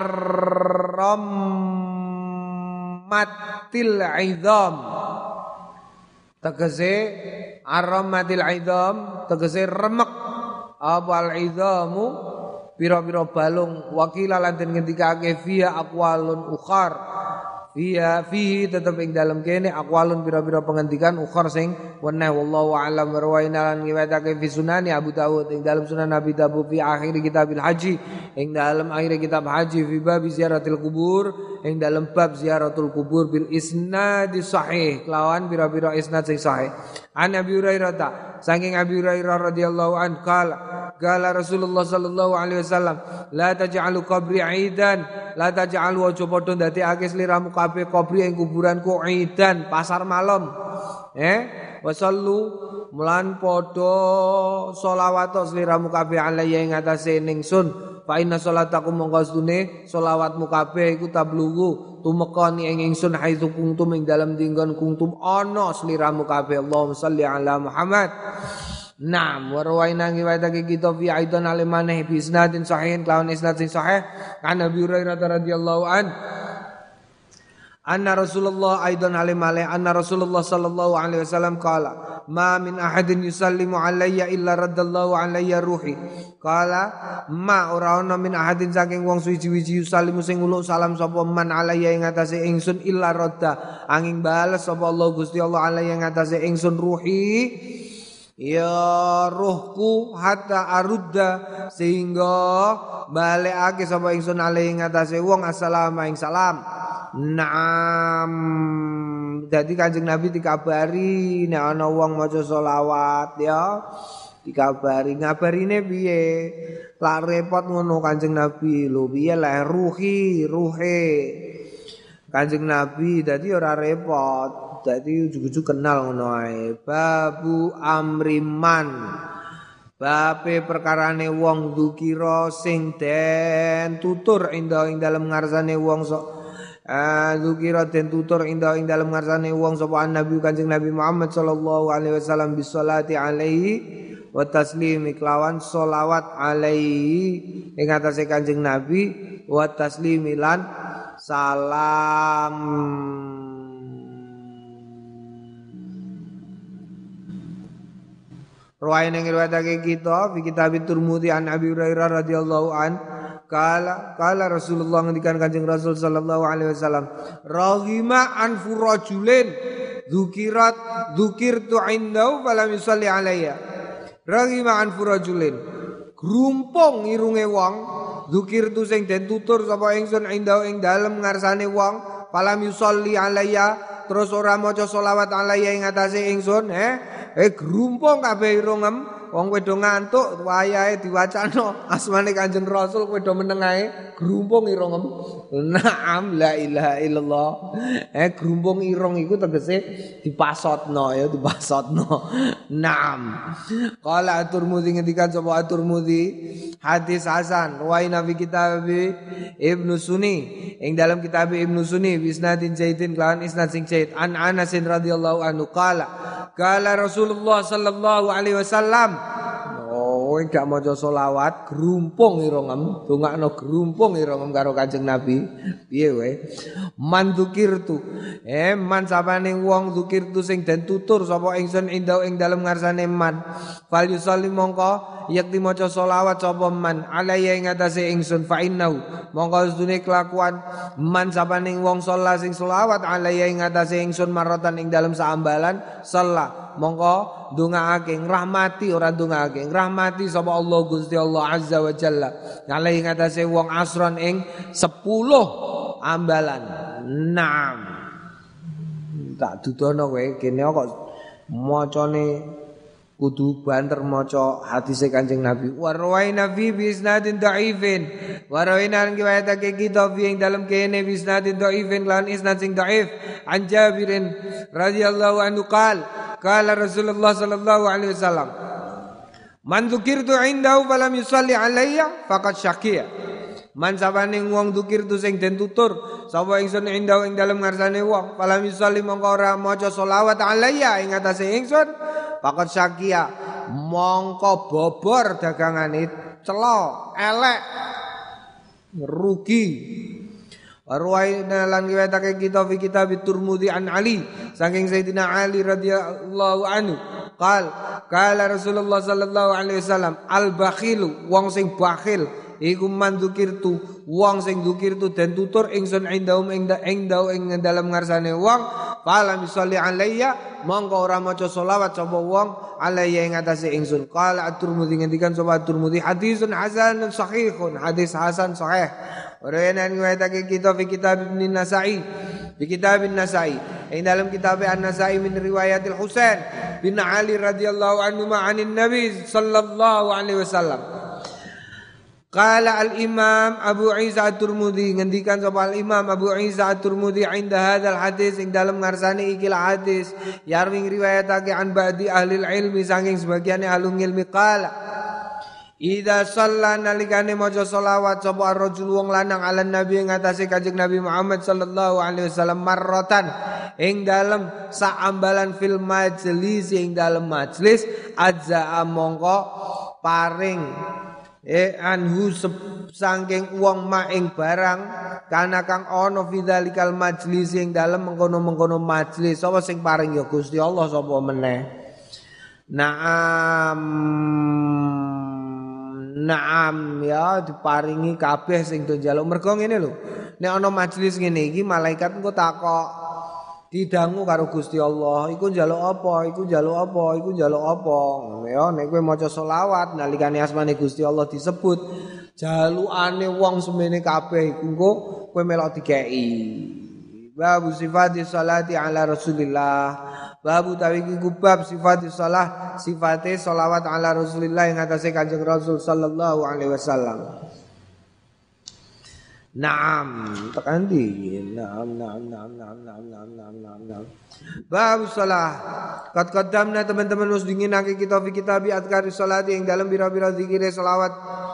arramatil idham tegese arramatil idham tegese remek apa al idhamu pira-pira balung wakila lan den ngendikake fiha aqwalun ukhar fiha fihi tetep ing dalem kene aqwalun pira-pira pengendikan ukhar sing weneh wallahu a'lam warwaina lan ngiwatake fi sunani Abu Dawud ing dalem sunan Nabi Dawud fi akhir kitabil haji ing dalem akhir kitab haji fi bab ziaratil kubur ing dalem bab ziaratul kubur bil isnad sahih lawan pira-pira isnad sing sahih an Abi Hurairah saking Abi Hurairah radhiyallahu anhu qala qala Rasulullah sallallahu alaihi wasallam la taj'alu qabri 'aidan la taj'alu aja padha ndadekake sliramu kabeh qabri ing kuburanku 'aidan pasar malam eh wasallu mulan padha selawat sliramu kabeh alaiya ing atase ningsun fa inna sholatakum mongko stune selawatmu kabeh iku tablughu tumeka ni ing ingsun haitsu kuntum ing dalem dinggon kuntum ana sliramu kabeh Allahumma sholli ala Muhammad. Naam wa rawaina riwayatake kita fi aidan alimane bi isnadin sahihin lawan isnad sing sahih kan Nabi Hurairah radhiyallahu an anna Rasulullah aidan alimale anna Rasulullah sallallahu alaihi wasallam qala ma min ahadin yusallimu alayya illa raddallahu alayya ruhi qala ma ora ana min ahadin saking wong suwi-wiji yusallimu sing nguluk salam sapa man alayya ing atase ingsun illa radda angin bales sapa Allah Gusti Allah alayya ing atase ingsun ruhi ya ruhku hatta arudda sehingga balekake sapa ingsun alayhi ing atase wong assalamu ing salam. Naam dadi Kanjeng Nabi dikabari nek ana wong maca selawat ya dikabari ngabarine piye lak repot ngono Kanjeng Nabi lho piye lek ruhi ruhe Kanjeng Nabi dadi ora repot dadi ujug-ujug kenal ngono ae babu amriman bape perkarane wong dzukira sing den tutur inda ing dalem ngarsane wong sok dzukira den tutur inda ing dalem ngarsane wong sapa Nabi Kanjeng Nabi Muhammad sallallahu alaihi wasallam bisolati alaihi wa taslimi kelawan sholawat alaihi ing atase Kanjeng Nabi wa taslimi lan salam. Ruwayan yang riwayatake kita fi kitab Tirmidzi an Abi Hurairah radhiyallahu an kala kala Rasulullah ngendikan Kanjeng Rasul sallallahu alaihi wasallam raghima an furajulin dzukirat dzukirtu indahu falam yusalli alayya raghima an furajulin grumpung irunge wong dzukirtu sing den tutur sapa ingsun indahu ing dalem ngarsane wong falam yusalli alayya terus ora maca selawat alayya ing atase ingsun eh eh grumpung kabeh irungem wong kowe do ngantuk wayahe diwacana asmane Kanjeng Rasul kowe do meneng ae grumpung irungem. Naam la ilaha illallah. Eh grumpung irung iku tegese dipasotno ya dipasotno. Naam. Qala At-Tirmidzi ngendikan sapa At-Tirmidzi hadis hasan wa ina fi kitab Ibnu Sunni ing dalam kitab Ibnu Sunni bisnadin zaidin lan isnad sing zaid an Anas radhiyallahu anhu qala qala Rasulullah sallallahu alaihi wasallam oh gak maca selawat grumpung irungem dongakno grumpung irungem karo Kanjeng Nabi piye wae man dzukirtu eh man sapane wong dzukirtu sing den tutur sapa ingsun indau ing dalem ngarsane man fal yusalli mongko yakti maca selawat sapa man alaya ing atase ingsun fa innahu mongko sedune kelakuan man sapane wong sholat sing selawat alaya ing atase ingsun maratan ing dalem saambalan salat mongko ndongaake ngrahmati ora ndongaake ngrahmati sapa Allah Gusti Allah azza wa jalla alai ngatasé wong asron ing sepuluh ambalan. Naam tak dudono kowe kene kok macane kudu banter maca hadise Kanjeng Nabi wa rawaina fi bisnadin dhaifin wa rawaina riwayatake kita fi ing dalem kene bisnadin dhaifin lan isnad sing dhaif an Jabirin radhiyallahu anhu qala qala Rasulullah sallallahu alaihi wasallam man dzukirtu indahu falam yusalli alayya faqad syaqiya man sabane wong dzukirtu sing den tutur sapa ingsun indahu ing dalem ngarsane wong falam yusalli mongko ora maca selawat alayya ing atase ingsun faqad syaqiya mongko bobor dagangane cela elek rugi. Arwaina lan riwayatake kita fi kitab Tirmidzi an Ali saking Sayyidina Ali radhiyallahu anhu qal qala Rasulullah sallallahu alaihi wasallam al bakhilu wong sing bakhil iku man dzukirtu wong sing dzukirtu den tutur ingsun indahum ing indau ing dalem ngarsane wong fala misalli alayya mongko ora maca selawat sapa wong alayya ing atase ingsun qala At-Tirmidzi ngendikan sapa At-Tirmidzi hadisun hasanun sahihun hadis hasan sahih. Rawayan riwayatake kita fi kitab Ibn Nasa'i fi kitab An-Nasa'i ing dalam kitab An-Nasa'i min riwayatil Husain bin Ali radhiyallahu anhu ma'anin Nabi sallallahu alaihi wasallam qala al-Imam Abu Isa At-Tirmidzi ngendikan sapa al-Imam Abu Isa At-Tirmidzi inda hadzal hadis ing dalam ngarsane iki hadis yarwing riwayatake an ba'di ahli ilmi saking sebagian ahli ilmi qala Idza shalla nalikane maca selawat sapa ar-rajul wong lanang ala nabi ing atase Kanjeng Nabi Muhammad sallallahu alaihi wasallam marratan ing dalem saambalan fil majlis ing dalem majlis azza mongko paring e anhu saking wong ma ing barang kana kang ana fidzalikal majlis ing dalem mengkono-mengkono majlis sapa sing paring ya Gusti Allah sapa meneh. Naam Naam ya diparingi kabeh sing do njaluk. Mergo ngene lho. Nek ana majelis ngene iki malaikat engko takok didangu karo Gusti Allah, iku njaluk apa? Iku njaluk apa? Iku njaluk apa? Ya nek kowe maca selawat nalikane asmane Gusti Allah disebut, jalukane wong semene kabeh iku engko kowe melok dikeki. Babu sifati salati ala Rasulillah. Babu tawiki kubab sifati salah sifate salawat ala Rasulillah yang atase Kanjeng Rasul sallallahu alaihi wasallam. Naam, tekan di. Naam, naam, naam, naam, naam, naam, naam, naam, naam. Babu salah. Kat qaddamna teman-teman wis dinginake kita fi kitab adkari salati yang dalam bira-bira zikire salawat.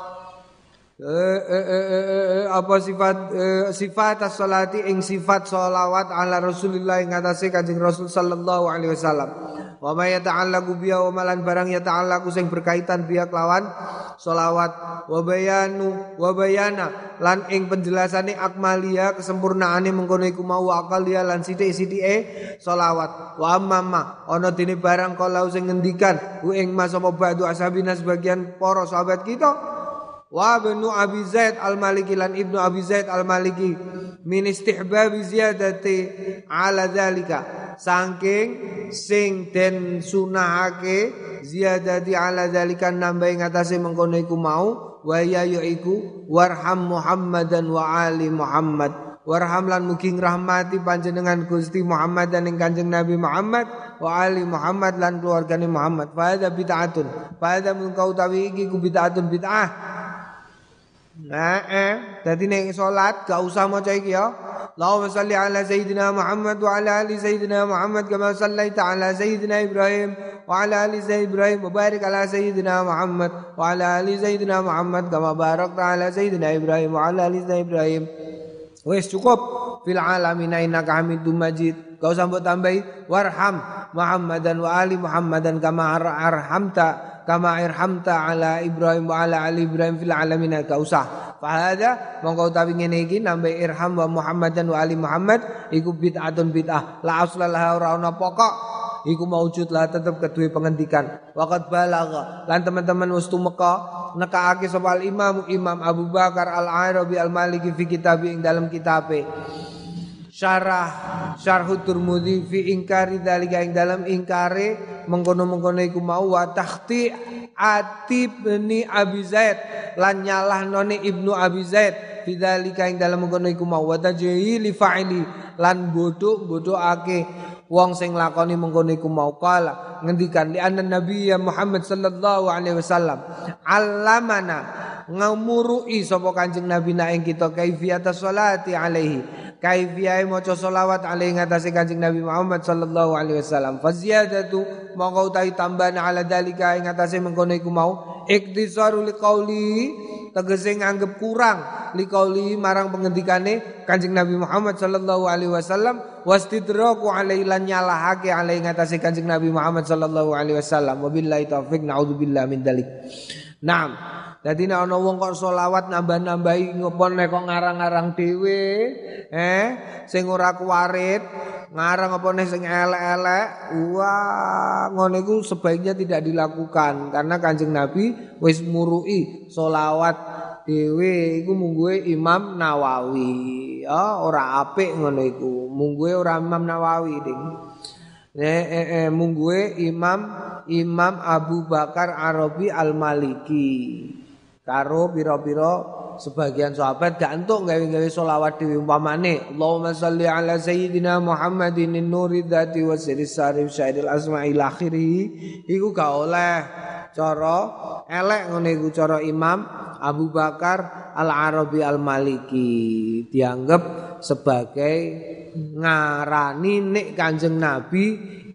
Eh, eh, eh, eh, eh, apa sifat eh, sifat as-salati ing sifat sholawat ala Rasulillah ing atase Kanjeng Rasul sallallahu alaihi wasallam. Wa ma yata'allaqu biha wa malan barang yata'allaqu sing berkaitan biha kelawan sholawat wa bayanu wa bayana lan ing penjelasane akmalia kesempurnaane mengkono iku mau akalia lan sithik-sithike sholawat wa amma ana dene barang kalau sing ngendikan ku ing mas apa ba'du ashabina sebagian para sahabat kita wa ibnu Abi Zaid al-Maliki lan ibnu Abi Zaid al-Maliki min istihbab ziyadati ala dzalika saking sing den sunahake ziyadati ala dzalika nambah ing atase mengkono iku mau wa ya iku warham Muhammadan wa ali Muhammad warham lan mugi rahmati panjenengan Gusti Muhammad dan ing Kanjeng Nabi Muhammad wa ali Muhammad lan keluargane Muhammad fa hadza bid'atun fa hadza mun kau tawi iki ku bid'atun bid'ah. Nah, eh, dadi nek salat gak usah maca iki ya. Allahumma shalli ala sayyidina Muhammad wa ala ali sayyidina Muhammad kama shallaita ala sayyidina Ibrahim wa ala ali sayyidina Ibrahim wa barik ala sayyidina Muhammad wa ala ali sayyidina Muhammad kama barakta ala sayyidina Ibrahim wa ala ali sayyidina Ibrahim. Wes cukup fil alamin innaka Hamidum Majid. Gak usah mbok tambahi warham Muhammadan wa ali Muhammadan kama arhamta kama irhamta ala Ibrahim wa ala ali Ibrahim fil alamin ka usah. Fa hadza mongko utawi ngene iki nambah irham wa Muhammadan wa ali Muhammad iku bid'atun bid'ah la aslalah ora ana pokok iku maujud lah tetep kedue pengendikan. Waqat balagha lan teman-teman wis tumeka nekaake sapa Imam Imam Abu Bakar Al-Arabi Al-Maliki fi kitab ing dalam kitabe Syarah Syarhut Tirmidzi fi ingkari dalika ing dalam ingkare mengkono-mengkono iku mau wa takhti Atib bin Abi Zaid lan nyalahnone Ibnu Abi Zaid fi dalika ing dalam mengkono iku mau wa tajhili fa'ili lan bodho-bodhoake wong sing lakoni mengkono iku mau kala ngendikan li anna Nabi Muhammad sallallahu alaihi wasallam allamana ngamurui sapa Kanjeng Nabi na ing kita kaifiyata sholati alaihi kaifiyai maca selawat alaihi ngatasi Kanjeng Nabi Muhammad sallallahu alaihi wasallam fa ziyadatu mongko utawi tambahan ala dalika ing ngatasi mengkono iku mau iktisaru liqauli tegese nganggep kurang liqauli marang pengendikane Kanjeng Nabi Muhammad sallallahu alaihi wasallam wastidraku alaihi lan nyalahake alaihi ngatasi Kanjeng Nabi Muhammad sallallahu alaihi wasallam wabillahi taufik naudzubillah min dalik. Naam. Dadi nek ana wong kok selawat nambah-nambahi ngopon nek kok ngarang-ngarang dhewe, eh sing ora kuwarit, ngarang apa nek sing elek-elek, wah ngono iku sebaiknya tidak dilakukan karena Kanjeng Nabi wis murui selawat dhewe iku mungguhe Imam Nawawi. Ya ora apik ngono iku, mungguhe ora Imam Nawawi, Ding. Eh, eh, eh, mungguhe Imam Imam Abu Bakar Arabi Al-Maliki. Karo pira-pira sebagian sahabat gak entuk gawe-gawe selawat dhewe umpamane Allahumma shalli ala sayyidina Muhammadin nuri dzati wa sirris sarif syairil asma'il akhiri iku gak oleh cara elek ngene iku cara Imam Abu Bakar Al-Arabi Al-Maliki dianggap sebagai ngarani nek Kanjeng Nabi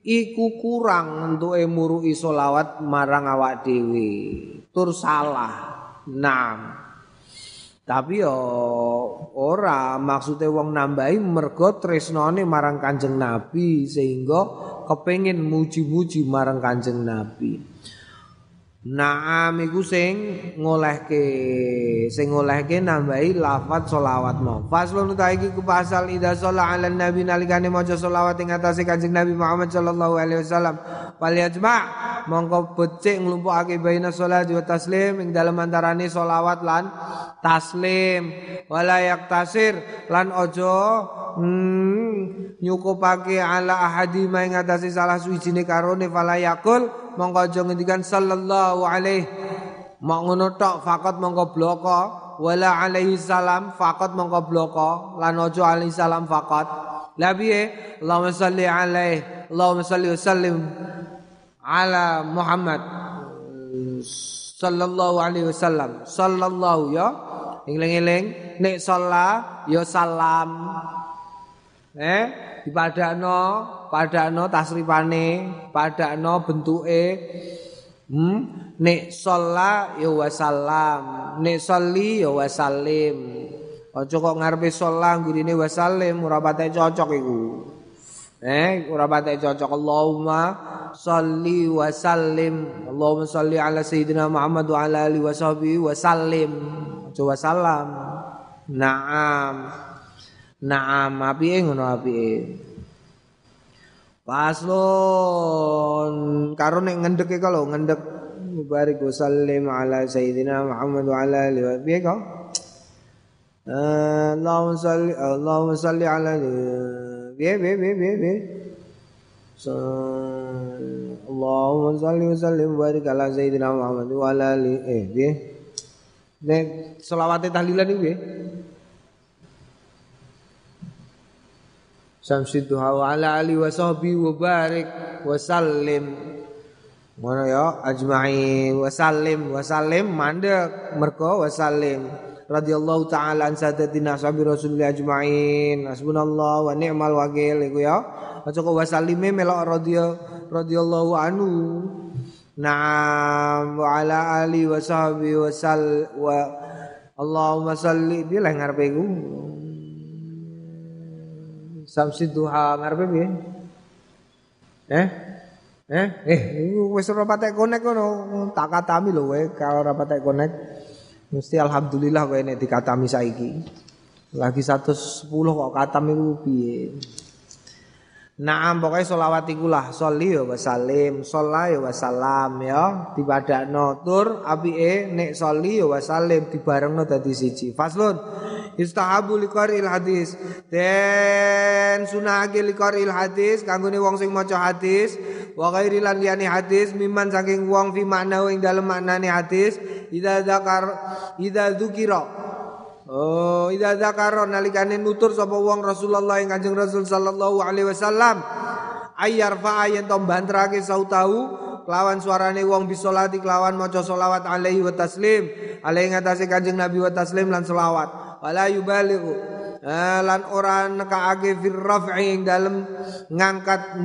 iku kurang entuke muruki selawat marang awak dhewe tur salah. Naam. Tapi yo ora maksude wong nambahi mergo tresnane marang Kanjeng Nabi sehingga kepengin muji-muji marang Kanjeng Nabi. Naam iku sing ngolehke, sing ngolehke nambahi lafaz selawat mau. Faslun ta iki ku pasal idza shalla ala nabi nalikane maca selawat ing atase Kanjeng Nabi Muhammad sallallahu alaihi wasallam. Fal yajma' mongko becik nglumpukake baina salat wa taslim ing dalem antarane selawat lan taslim. Wala yaktasir lan ojo hmm, nyukupake ala ahadi ing atase salah suwijine karone fala yakul mongko aja ngendikan sallallahu alaihi mok ngono tok faqat mongko bloko wala alaihi salam faqat mongko bloko lan aja alaihi salam faqat la piye Allahumma shalli alaihi Allahumma shalli wa sallim ala Muhammad sallallahu alaihi wasallam sallallahu ya eling-eling nek shalla ya salam eh dipadakno padakno tasrifane padakno bentuke hmm nek shalla ya wasallam nek sholli ya wasallim aja kok ngarepe shalla gurine wasallim ora patek cocok iku eh ora patek cocok Allahumma sholli wasallim Allahumma sholli ala sayyidina Muhammad wa ala alihi washabihi wasallim aja wasallam. Naam naam apike ngono apike. Paslon karo nek ngendeke kalau ngendek mubarik wasallim ala sayyidina Muhammad wa ala alihi wa piye kok Allahumma shalli Allahumma shalli ala piye piye piye piye Allahumma shalli wa sallim mubarik ala sayyidina Muhammad wa ala alihi eh piye nek selawate tahlilan iki piye Samsidduha wa ala alihi wa sahbihi wa barik wa sallim. Ngono ya ajma'in wa sallim wa sallim mandek mergo wa sallim. Radhiyallahu ta'ala an sadatina sahabi Rasulillah ajma'in. Hasbunallah wa ni'mal wakil iku ya. Aja kok wa sallime melok radhiya radhiyallahu anhu. Naam wa ala alihi wa sahbihi wa sall wa Allahumma shalli bilih ngarepe iku. Samsidduha ngarepe piye? Eh? Eh? Eh, wis ora patek konek ngono. Tak katami lho kowe kalau ora patek konek. Mesti alhamdulillah kowe nek dikatami saiki. Lagi seratus sepuluh kok katam iku piye? Naam pokoke selawat iku lah, sholli ya wasallim, sholla ya wasalam ya, dipadakno tur apike nek sholli ya wasallim dibarengno dadi siji. Faslun istahabu liqaril hadis. Den sunahake liqaril hadis kanggone wong sing maca hadis wa ghairi lan liyane hadis miman saking wong fi makna ing dalem maknane hadis idza zakar idza dzukira. Oh, idza zakara nalikane nutur sapa wong Rasulullah ing Kanjeng Rasul sallallahu alaihi wasallam ayar fa yen to bantrake sautahu kelawan suarane wong bisolati kelawan maca selawat alaihi wa taslim alaihi ngatasi Kanjeng Nabi wa taslim lan selawat wala yubalighu lan ora nekake fir raf'i ing dalem ngangkat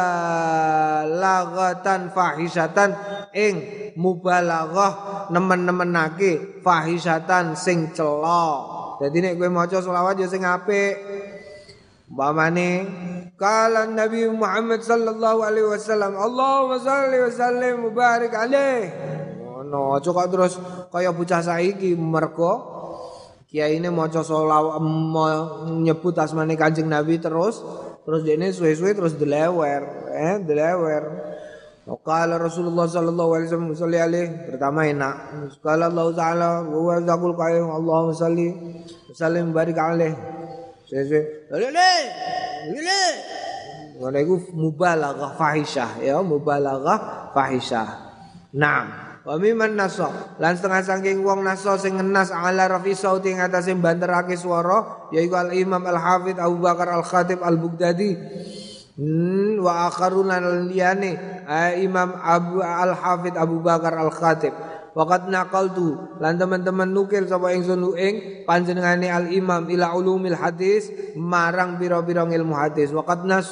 mubalaghatan fahisatan ing mubalaghah nemen-nemenake fahisatan sing cela. Dadi nek kowe maca selawat ya sing apik. Umpamane kala Nabi Muhammad sallallahu alaihi wasallam Allahumma shalli wa sallim mubarik alaih. Ngono aja kok terus kaya bocah saiki mergo kiyaine maca selawat nyebut asmane Kanjeng Nabi terus terus dene suwe-suwe terus delewer eh delewer. Qala Rasulullah sallallahu alaihi wasallam salli alaihi pertama enak. Qala Allah taala wa zaqul qayyim Allahumma shalli wa sallim barik alaihi. Suwe-suwe lele lele ngono iku mubalaghah fahisyah ya mubalaghah fahisyah. Naam. Wa mimman nasa lan setengah saking wong nasa sing ngenas ala rafi sauti ing atase banterake swara yaiku al Imam Al Hafidz Abu Bakar Al Khatib Al Baghdadi hmm, wa akharun lan liyane Imam Abu Al Hafidz Abu Bakar Al Khatib waqad naqaltu lan teman-teman nukil sapa ingsun ing panjenengane Al Imam ila ulumil hadis marang pira-pira ilmu hadis waqad nasa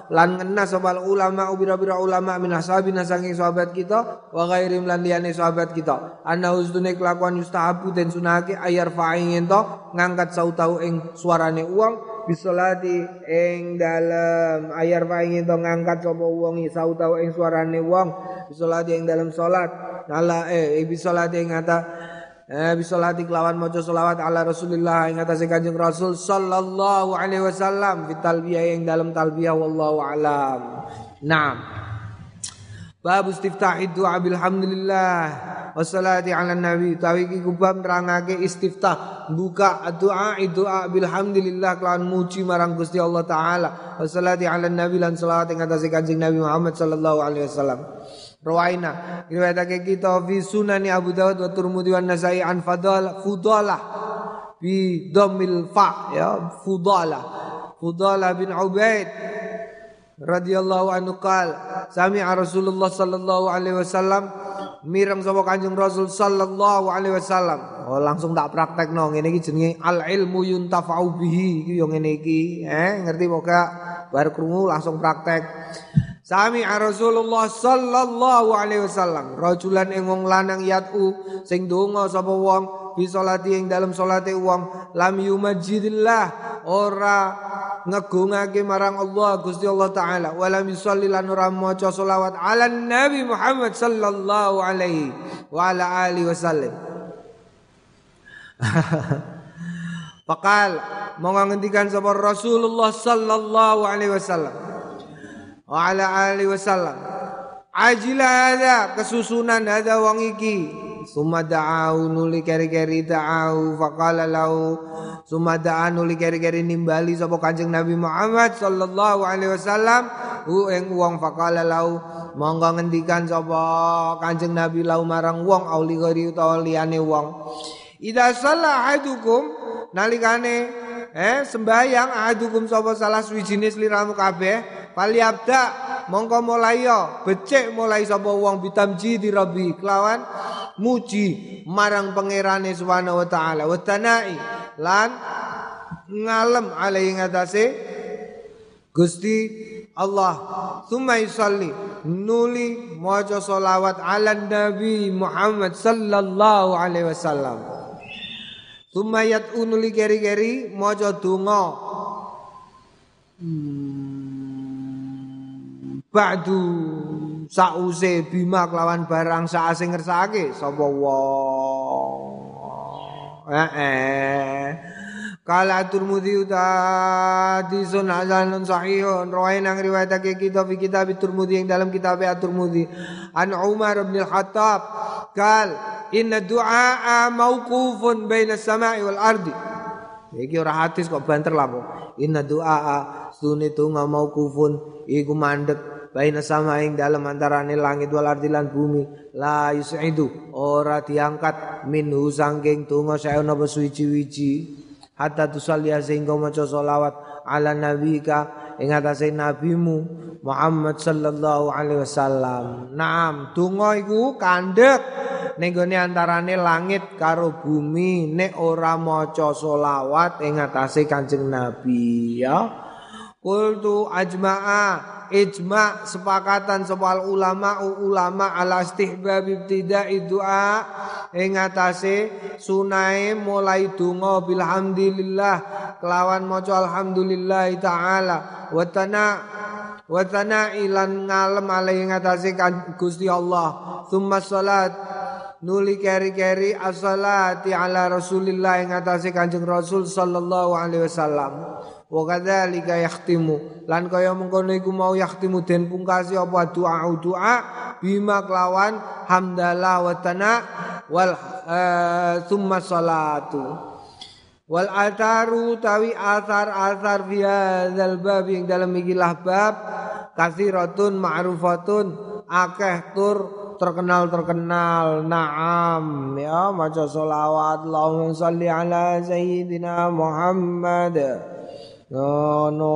lan ngena sapa ulama ubira-bira ulama min ashabina saking sahabat kita wa ghairim lan liyane sahabat kita ana usdune kelakuan yustahabu den sunake ayar fa'ing ento ngangkat sautau ing suarane uang bisolati ing dalem ayar fa'ing ento ngangkat sapa wong sautau ing suarane wong bisolati ing dalem salat ala eh bisolati ing ata Eh bisolati kelawan maca selawat ala Rasulillah ing atase Kanjeng Rasul sallallahu alaihi wasallam fi talbiyah ing dalam talbiyah wallahu alam. Naam. Bab istiftah doa bilhamdulillah wassalati ala nabi tawi iki kubab nerangake istiftah buka doa doa bilhamdulillah kelawan muji marang Gusti Allah taala wassalati ala nabi lan selawat ing atase Kanjeng Nabi Muhammad sallallahu alaihi wasallam. Rawaina riwayatake kita fi sunani Abu Dawud wa Tirmidzi wa Nasa'i an Fadal Fudalah bi dhammil fa ya Fudalah Fudalah bin Ubaid radhiyallahu anhu qala sami'a Rasulullah sallallahu alaihi wasallam mireng sapa Kanjeng Rasul sallallahu alaihi wasallam oh langsung tak praktekno ngene iki jenenge al ilmu yuntafa'u bihi iki yo ngene iki eh ngerti pokoke bar krungu langsung praktek. Sami'a Rasulullah sallallahu alaihi wasallam rajulan ing wong lanang yatu sing donga sapa wong bi salati ing dalem salate wong lam yumajjidillah ora ngegungake marang Allah Gusti Allah taala wala misalli lan ora maca selawat ala Nabi Muhammad sallallahu alaihi wa ala alihi wasallam. Faqal monggo ngendikan sapa Rasulullah sallallahu alaihi wasallam wa ala alihi wasallam ajila ada kesusunan ada wong iki summa da'au nuli keri-keri da'au faqala lahu summa da'a nuli keri-keri nimbali sapa Kanjeng Nabi Muhammad sallallahu alaihi wasallam hu ing wong faqala lahu monggo ngendikan sapa Kanjeng Nabi lahu marang wong auli gori utawa liyane wong idza shalla ahadukum nalikane eh sembayang ahadukum sapa salah suwijine sliramu kabeh Paliabda mongko mulai yo becik mulai sapa wong bitamji di Rabbi kelawan muji marang pangerane subhanahu wa taala wa tanai lan ngalem alai ngatasé Gusti Allah summa yusalli nuli maca selawat ala Nabi Muhammad sallallahu alaihi wasallam summa yat'u nuli keri-keri maca donga hmm. Ba'du sause bima kelawan barang saase ngersake sapa wong eh kala Tirmidzi tadi sunan sahihun rawaina riwayatake kita fi kitab Tirmidzi yang dalam kitab At-Tirmidzi an Umar bin Al-Khattab qal inna du'a mauqufun baina as-sama'i wal ardi iki ora hadis kok banter lah kok inna du'a sunni tunga mauqufun iku mandek baina sama ing dalam antarane langit wal ardi lan bumi la yusidu ora diangkat minhu sangking tunga sae napa suwi-wiji hatta tusalli sehingga maca selawat ala nabika ing atase nabimu Muhammad sallallahu alaihi wasallam. Naam tunga iku kandhek ning gone antarane langit karo bumi nek ora maca selawat ing atase Kanjeng Nabi ya. Qultu ajma'a ijma' sepakatan sapa ulama ulama ala istihbab ibtida'i du'a ing atase sunae mulai donga bilhamdulillah kelawan maca alhamdulillah taala wa tana wa tana ilan ngalem ale ing atase Gusti Allah summa salat nuli keri-keri as-salati ala Rasulillah ing atase Kanjeng Rasul sallallahu alaihi wasallam. Wa kadzalika yakhtimu lan kaya mengkono iku mau yakhtimu den pungkasi apa doa doa bima kelawan hamdalah wa tana wal summa salatu wal ataru tawi athar athar fi hadzal bab ing dalam ikilah bab kasiratun ma'rufatun akeh tur terkenal terkenal naam ya maca selawat Allahumma shalli ala sayyidina Muhammad. No, no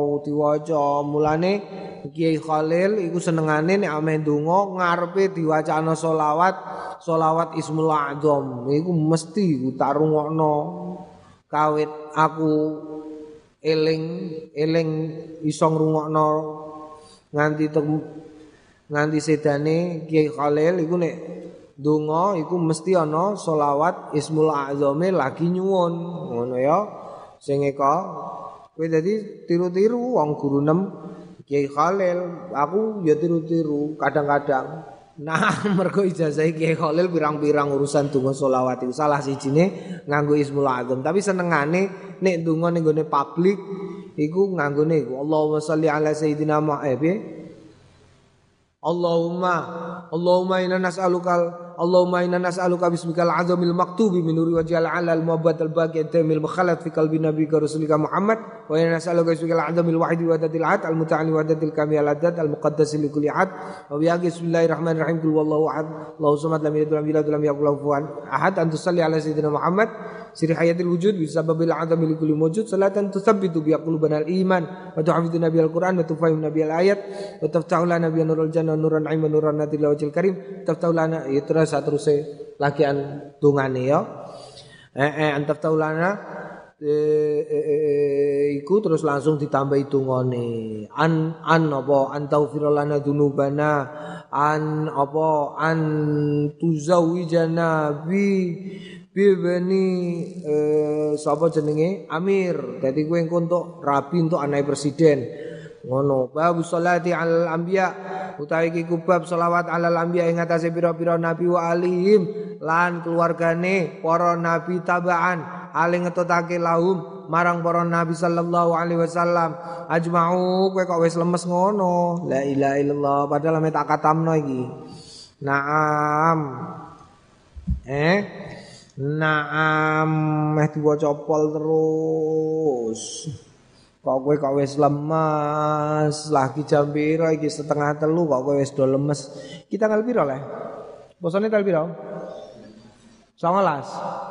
diwaca mulane Kiai Khalil iku senengane nek ame ndonga ngarepe diwacana selawat selawat Ismul A'dzam iku mesti ku tak rungokno kawit aku eling eling iso ngrungokno nganti nganti sedane Kiai Khalil iku nek donga iku mesti ana selawat Ismul A'zame lagi nyuwun ngono ya sing eka kowe dadi tiru-tiru wong guru nem Kiai Khalil aku ya tiru-tiru kadang-kadang nah mergo ijazah Kiai Khalil pirang-pirang urusan donga selawat iku salah sijine nganggo Ismul A'zam tapi senengane nek donga ning gone publik iku nganggone iku Allahumma sholli ala sayyidina Muhammad Allahumma Allahumma inna nas'aluka Allahumma inna nas'aluka bismikal azamil maktubi min nuri wajhil alal muabbad al baqi tamil mukhallat fi qalbi nabiyyika rasulika Muhammad wa inna nas'aluka bismikal azamil wahidi wa datil ahad al muta'ali wa datil kamil adat al muqaddas li kulli ahad wa bi bismillahirrahmanirrahim qul wallahu ahad Allahu samad lam yalid wa lam yulad wa lam yakul lahu kufuwan ahad an tusalli ala sayyidina Muhammad siri hayatil wujud bisababil azami li kulli mawjud salatan tusabbitu bi qulubana al iman wa tuhafiduna bil qur'an wa tufahimuna bil ayat wa taftahu lana bi nurul jannah nuran aiman nuran natil wajhil karim taftahu lana ya terus teruse lagian dungane ya eh eh antaftahu lana eh iku terus langsung ditambahi dungane an an apa antaufir lana dzunubana an apa an tuzawijana bi bibeni eh, sapa jenenge Amir. Dadi kowe engko entuk rabi entuk anak presiden. Ngono. Bab sholati alal anbiya utawi iki kubab selawat alal anbiya ing atase pira-pira nabi wa alihim lan keluargane para nabi tabaan ale ngetutake lahum marang para nabi sallallahu alaihi wasallam ajma'u kowe kok wis lemes ngono. La ilaha illallah padahal ame tak katamno iki. Naam. Eh Naam meh diwaca pol terus. Kok kowe kok wis lemes, lagi jam piro iki setengah telu kok kowe wis do lemes. Kita tanggal piro le? Bosone tanggal piro? sembilan belas.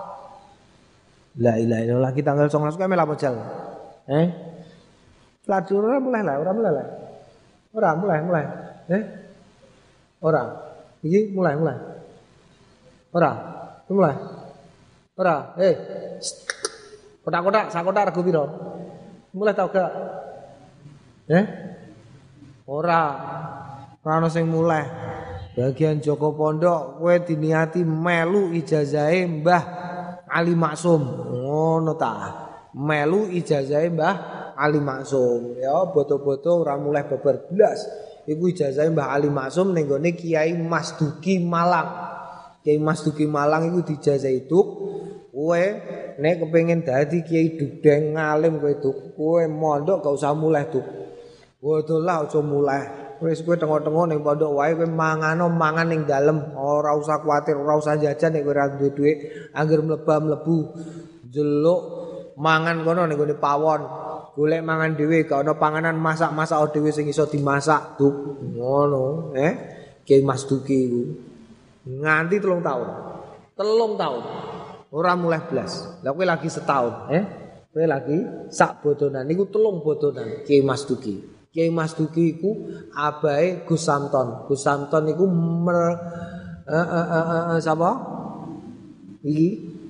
La ilaha illallah kita tanggal sembilan belas kok melu jal. Eh? Ladur ora mulai lah, ora mulai lah. Ora mulai, mulai. Eh? Ora. Iki mulai, mulai. Ora. Mulai. Ora, eh. Kotak-kotak, sak kotak rego piro? Mulai tau gak? Eh? Ora. Ora ono sing mulai. Bagian Joko Pondok kowe diniati melu ijazahe Mbah Ali Maksum. Ngono ta. Melu ijazahe Mbah Ali Maksum. Ya boto-boto ora mulai babar blas. Iku ijazahe Mbah Ali Maksum ning gone Kiai Mas Duki Malang. Kiai Mas Duki Malang iku dijazahi itu kowe nek kepengin dadi kiai dugdeng ngalim kowe itu kowe mondok gak usah mulai tuh. Waduh lah aja mulai. Wis kowe tengok-tengok ning pondok wae kowe mangano mangan ning dalem, ora usah kuwatir, ora usah jajan nek kowe ora duwe dhuwit, angger mleba-mlebu jeluk mangan kono ning gone pawon. Golek mangan dhewe gak ana panganan masak-masak dhewe sing iso dimasak tuh. Ngono, eh. Kiai Mas Duki iku nganti telung tahun. Telung tahun. Ora mulai blas. Lah kowe lagi setahun, eh? Kowe lagi sak bodonan niku telung bodonan Kiai Mas Duki. Kiai Mas Duki iku abahe Gus Samton. Gus Samton iku mer eh eh eh, eh sapa? Iki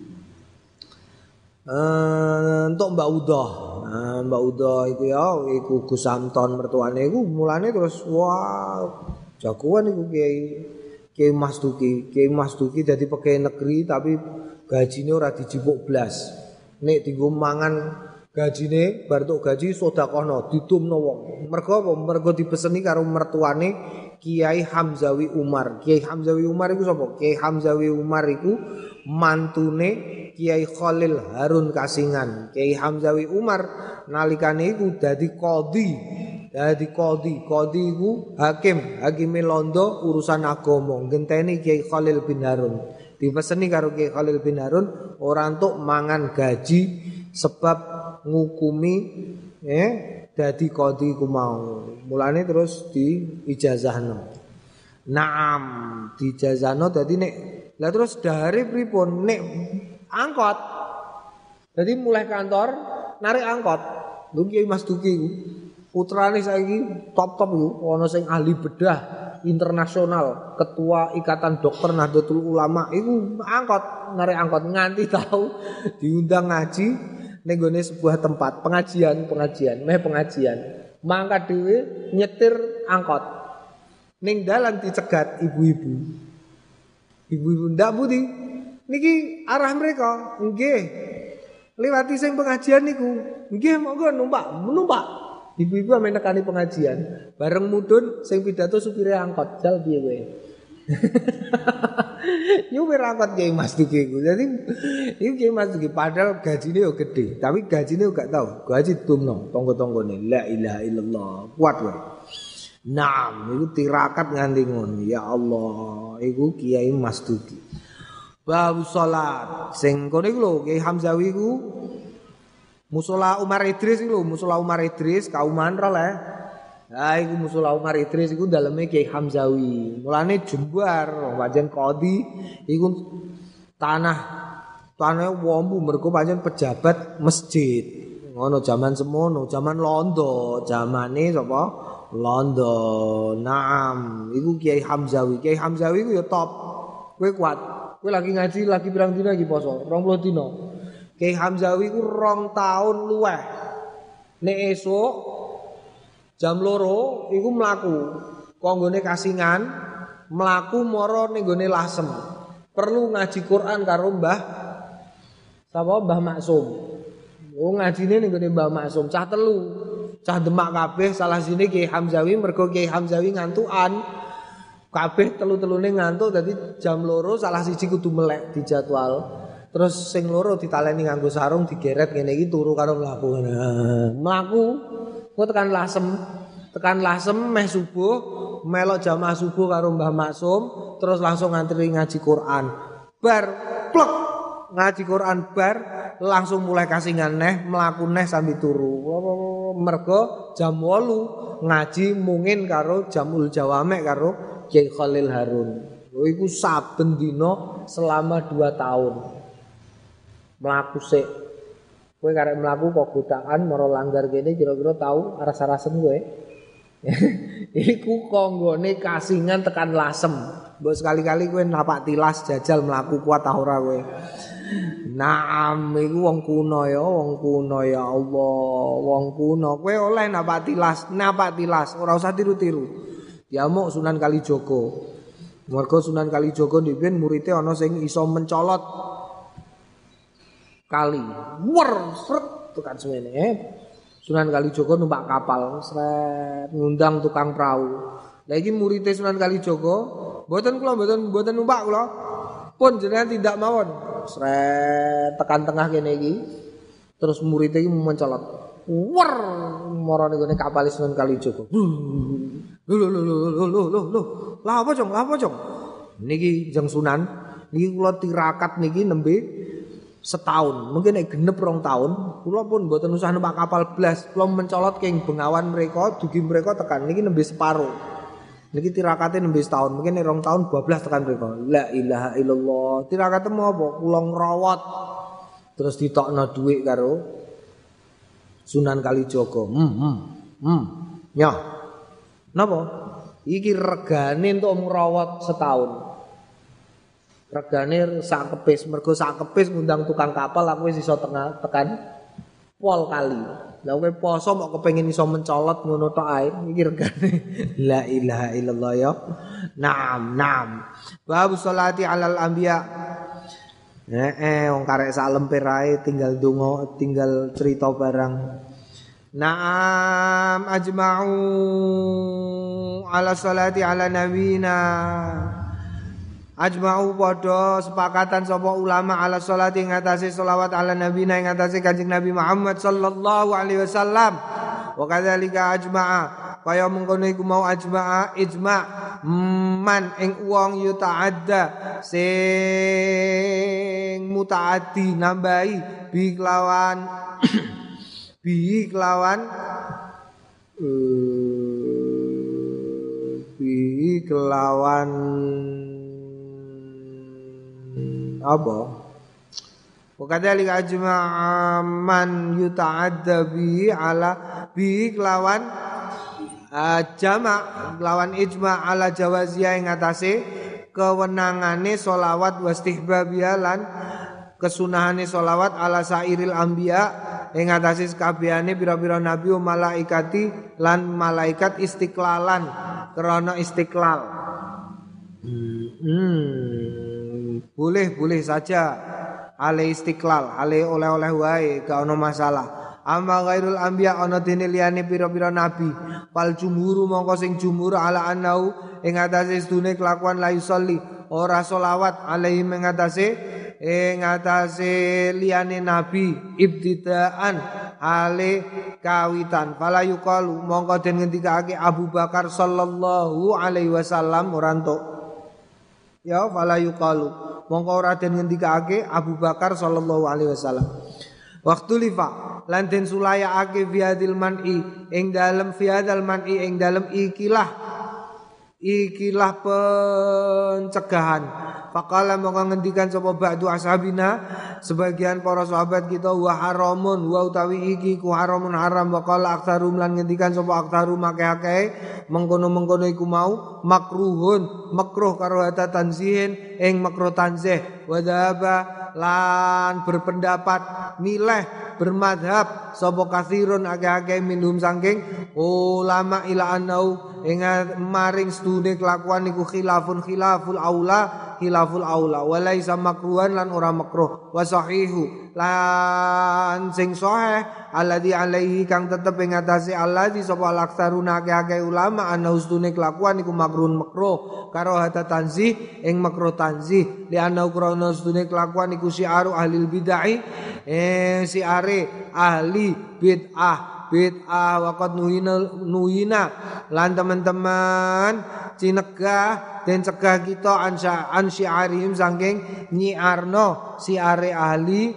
eh entuk Mbak Udah. Nah, Mbak Udah iku ya iku Gus Samton mertuane iku mulane terus wah jagoan iku Kiai Kiai Mas Duki. Kiai Mas Duki dadi pegawai negeri tapi gajine ora dijipuk blas. Nek dienggo mangan gajine bar tok gaji sedekahno ditumno wong. Mergo apa? Mergo dipeseni karo mertuane Kiai Hamzawi Umar. Kiai Hamzawi Umar iku sapa? Kiai Hamzawi Umar iku mantune Kiai Khalil Harun Kasingan. Kiai Hamzawi Umar nalikane iku dadi qadhi. Dadi qadhi. Qadhi iku hakim, hakime londo urusan agama. Ngenteni Kiai Khalil bin Harun. Dipeseni karo Kiai Khalil bin Harun ora entuk mangan gaji sebab ngukumi eh dadi qadhi ku mau. Mulane terus di ijazahno. Naam, di ijazahno dadi nek lah terus dari pripun nek angkot. Jadi mulai kantor narik angkot. Lho Kiai Mas Duki iku putrane saiki top-top iku ana sing ahli bedah internasional, ketua Ikatan Dokter Nahdlatul Ulama iku angkot, narik angkot nganti tahu diundang ngaji ning gone sebuah tempat pengajian, pengajian, meh pengajian. Mangkat dhewe nyetir angkot. Ning dalan dicegat ibu-ibu. Ibu-ibu ndak Budi. Niki arah mereka. Nggih. Liwati sing pengajian niku. Nggih monggo numpak, numpak. Ibu-ibu ame nekani pengajian. Bareng mudhun sing pidato supire angkot. Jal piye kowe? Yo angkot Kiai Mas Duki iku. Dadi iki Kiai Mas Duki padahal gajine yo gede, tapi gajine gak tau. Gaji tumno tonggo-tonggone. La ilaha illallah. Kuat wae. Naam, iku tirakat nganti ngono. Ya Allah, iku Kiai Mas Duki. Bab salat. Sing kono iku lho Kiai Hamzawi iku Musola Umar Idris iku lho, Musola Umar Idris kauman ro le. Ha iku Musola Umar Idris iku daleme Kiai Hamzawi. Mulane jembar pancen qadhi iku tanah tanah wombu mergo pancen pejabat masjid. Ngono zaman semono, zaman londo, zamane sapa? Londo. Naam, iku Kiai Hamzawi. Kiai Hamzawi iku ya top. Kowe kuat. Kowe lagi ngaji, lagi pirang dina iki poso? dua puluh dina. Kiai Hamzawi ku rong taun luweh. Nek esuk jam loro iku mlaku konggone kasingan mlaku mara ning gone Lasem perlu ngaji Quran karo Mbah sapa Mbah Maksum. Oh ngajine ning gone Mbah Maksum cah telu cah Demak kabeh salah sini Kiai Hamzawi mergo Kiai Hamzawi ngantukan kabeh telu-telune ngantuk dadi jam loro salah siji kudu melek dijadwal. Terus sing loro ditaleni nganggo sarung digeret ngene iki turu karo mlaku. Mlaku kok tekan Lasem, tekan Lasem meh subuh, melok jamaah subuh karo Mbah Maksum, terus langsung ngantri ngaji Quran. Bar plek ngaji Quran bar langsung mulai kasingan neh, mlaku neh sambil turu. Mergo jam wolu ngaji mungin karo Jamul Jawamek karo Kiai Khalil Harun. Lho iku saben dina selama dua tahun. Melaku sik. Kowe karek mlaku kok godakan mara langgar kene kira-kira tahu aras-arasen kowe. Iku konggone kasingan tekan Lasem. Mbok sekali-kali kowe napak tilas jajal mlaku kuat ta ora kowe. Naam iku wong kuno ya, wong kuno ya Allah, wong kuno. Kowe oleh napak tilas, napak tilas, ora usah tiru-tiru. Diamuk Sunan Kalijaga. Mergo Sunan Kalijaga ndhewe muridé ana sing iso mencolot kali wer sret tekan semene eh. Sunan Kalijaga numpak kapal sret ngundang tukang perahu. Lah iki murid Sunan Kalijaga mboten kula mboten mboten numpak kula pun jenengan tidak mawon sret tekan tengah kene iki terus murid iki mencolot wer marane gone kapal Sunan Kalijaga. Lho lho lho lho lho lho lho lah apa jong lah apa jong niki jeng Sunan niki kula tirakat niki nembe setahun, mungkin nek genep rong tahun, kula pun mboten usah numpak kapal blas, kula mencolot keng Bengawan mereka, dugi mereka tekan niki nembe separo. Niki tirakate nembe setahun, mungkin nek rong tahun dua belas tekan mereka. La ilaha illallah. Tirakate mau apa? Kula ngrawat. Terus ditokno dhuwit karo Sunan Kalijaga. Hmm, hmm. Hmm. Ya. Napa? Iki regane entuk ngrawat setahun. Regane sak kepis, mergo sak kepis ngundang tukang kapal aku wis iso tengah tekan pol kali. Lah kowe poso mok kepengin iso mencolot ngono tok ae iki regane. La ilaha illallah ya. Naam, naam. Bab sholati alal anbiya. Heeh, wong karek sak lemper ae tinggal donga, tinggal cerita barang. Naam ajma'u ala sholati ala nabina. Ajma'u padha sepakatan sapa ulama ala sholati ing atase selawat ala nabi ing atase Kanjeng Nabi Muhammad sallallahu alaihi wasallam. Wa kadzalika ajma'a kaya mengkono iku mau ajma'a ijma' man ing wong yuta'adda sing mutaaddi nambahi bi kelawan bi kelawan bi kelawan apa? Wakadzalika ajma'a man yuta'adda bi ala bi kelawan uh, jama' kelawan ijma' ala jawaziyah ing atase kewenangane selawat wastihbabiyah lan kesunahane selawat ala sairil anbiya ing atase sakabehane pira-pira nabi wa malaikati lan malaikat istiqlalan krana istiqlal. Hmm, boleh boleh saja ale istiqlal, ale oleh-oleh wae gak ono masalah. Amma ghairul anbiya ana dene liyane pira-pira nabi fal jumhuru mongko sing jumhur ala annau ing atase sedune kelakuan la yusolli ora selawat alaihi ing atase ing atase liyane nabi ibtidaan ale kawitan fala yuqalu mongko den ngendikake Abu Bakar sallallahu alaihi wasallam ora entuk ya fala yuqalu mongko ora den ngendikake Abu Bakar sallallahu alaihi wasallam. Waktu lifa lan den sulayaake fiadil man'i ing dalem fiadal man'i ing dalem ikilah ikilah pencegahan. Faqala mongko ngendikan sapa ba'du ashabina sebagian para sahabat kita wa haramun wa utawi iki ku haramun haram wa qala aktsarum lan ngendikan sapa aktsarum akeh-akeh mengkono-mengkono iku mau makruhun makruh karo hata tanzihin ing makruh tanzih wa dhaba lan berpendapat milih bermadhab sapa kathirun akeh-akeh minhum saking ulama ila anau ing maring studi kelakuan niku khilafun khilaful aula khilaful aula walaisa makruhan lan ora makruh wa sahihu lan sing sahih alladzi alaihi kang tetep ing atase alladzi sapa laksaruna akeh-akeh ulama ana ustune kelakuan niku makruhun makruh karo hata tanzih ing makruh tanzih li ana krana ustune kelakuan niku syiaru ahli bid'ah eh siare ahli bid'ah bid'ah waqad nuhina nuhina lan teman-teman cinegah dan cegah kita an syiarihim saking nyiarno siare ahli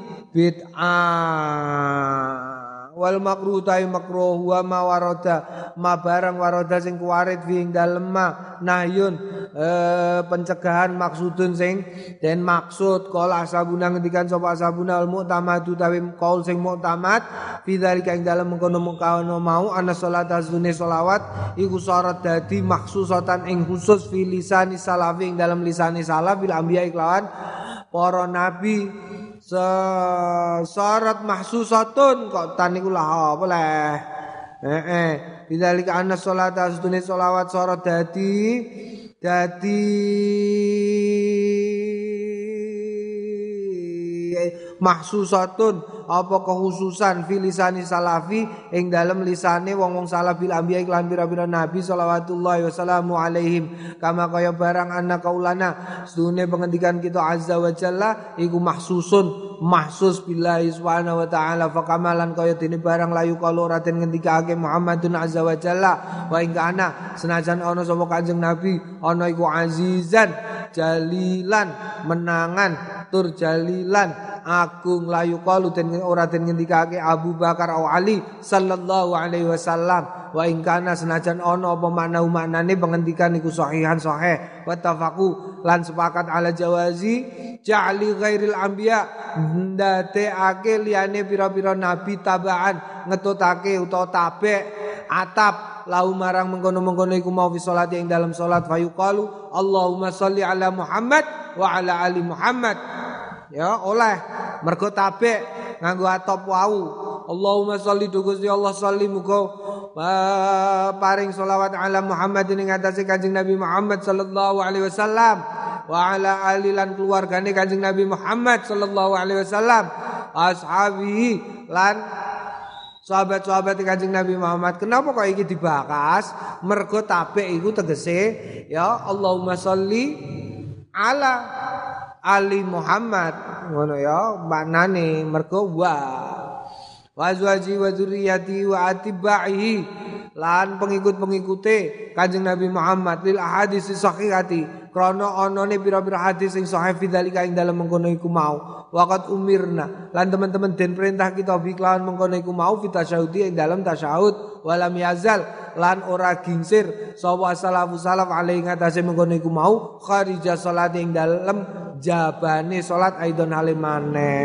bid'ah. Wal makruh ta'i makruh wa ma warada ma barang warada sing kuwarit fi ing dalem ma nahyun e, pencegahan maksudun sing den maksud qala ashabuna ngendikan sapa ashabuna al mu'tamadu tawi qaul sing mu'tamad fi dzalika ing dalem mengkono-mengkono mau ana salat azune selawat iku syarat dadi maksusatan ing khusus fi lisani salafi ing dalem lisani salaf bil anbiya iklawan para nabi syarat mahsusatun kok tan niku lah apa leh heeh bidzalika anna sholata astune sholawat syarat dadi dadi mahsusatun apa kekhususan fi lisani salafi ing dalem lisane wong-wong salaf bil anbiya iklan pira-pira nabi shalawatullahi wasallamu alaihim kama kaya barang anna kaulana sedune pengendikan kita azza wa jalla iku mahsusun mahsus billahi subhanahu wa ta'ala fakamalan kaya dene barang layu kalau raden ngendikake Muhammadun azza wa jalla wa ing kana senajan ana sapa Kanjeng Nabi ana iku azizan jalilan menangan tur jalilan agung layu qalu den ora den ngendikake Abu Bakar au Ali sallallahu alaihi wasallam wa ing kana senajan ana apa makna maknane pengendikan iku sahihan sahih wa tafaqu lan sepakat ala jawazi ja'li ghairil anbiya ndateake liyane pira-pira nabi tabaan ngetutake utawa tabe atap lau marang mengkono-mengkono iku mau fi salat ing dalam salat fayuqalu Allahumma sholli ala Muhammad wa ala ali Muhammad ya oleh mergo tabe nganggo atop wau Allahumma sholli Gusti Allah sholli muga paring selawat ala Muhammad ing atase Kanjeng Nabi Muhammad sallallahu alaihi wasallam wa ala ali lan keluargane Kanjeng Nabi Muhammad sallallahu alaihi wasallam ashabi lan sahabat-sahabat Kanjeng Nabi Muhammad. Kenapa kok iki dibahas? Mergo tabe iku tegese ya Allahumma sholli ala ali Muhammad ngono ya maknane mergo wa wazwaji wa dzurriyyati wa atibaihi lan pengikut-pengikute Kanjeng Nabi Muhammad lil ahadits sahihati krana anane pira-pira hadis sing sahih fidzalika ing dalem mengkono iku mau waqat umirna lan teman-teman den perintah kita biklawan mengkono iku mau fitasyahudi ing dalem tasyahud walam yazal lan ora gingsir sapa salafus salaf alaihi ngatasi mengkono iku mau kharija salat ing dalem jabane salat aidon halimane.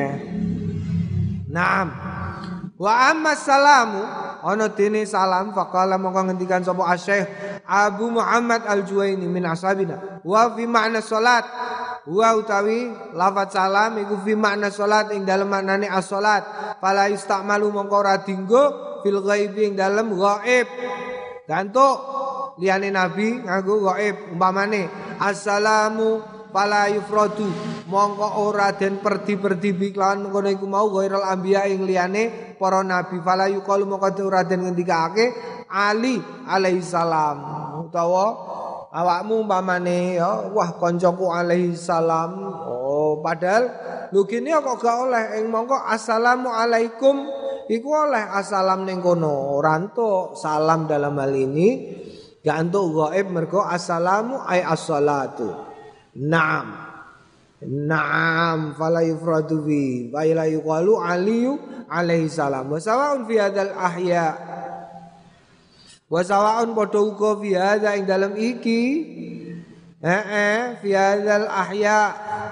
Naam. Wa amma salamu ana dene salam faqala mongko ngendikan sapa Asy-Syaikh Abu Muhammad Al-Juwaini min ashabina wa fi makna salat wa utawi lafaz salam iku fi makna salat ing dalem maknane as-salat fala yustamalu mongko ora dinggo fil ghaibi ing dalem ghaib. Gantuk liyane nabi nganggo ghaib umpamane assalamu fala yufradu mongko ora den perdi-perdi biklawan ngono iku mau ghairal anbiya ing liyane para nabi fala yuqalu mongko ora den ngendikake Ali alaihi salam utawa awakmu umpamane ya wah koncoku alaihi salam oh padahal lho kene kok gak oleh ing mongko assalamu alaikum iku oleh assalam ning kono ora entuk salam dalam hal ini gak entuk ghaib mergo assalamu ay as-salatu. Naam. Naam fala yufradu bi wa la yuqalu aliyu alaihi salam. Wa sawaun fi hadzal ahya. Wa sawaun padha uga fi hadza ing dalem iki. Heeh fi hadzal ahya.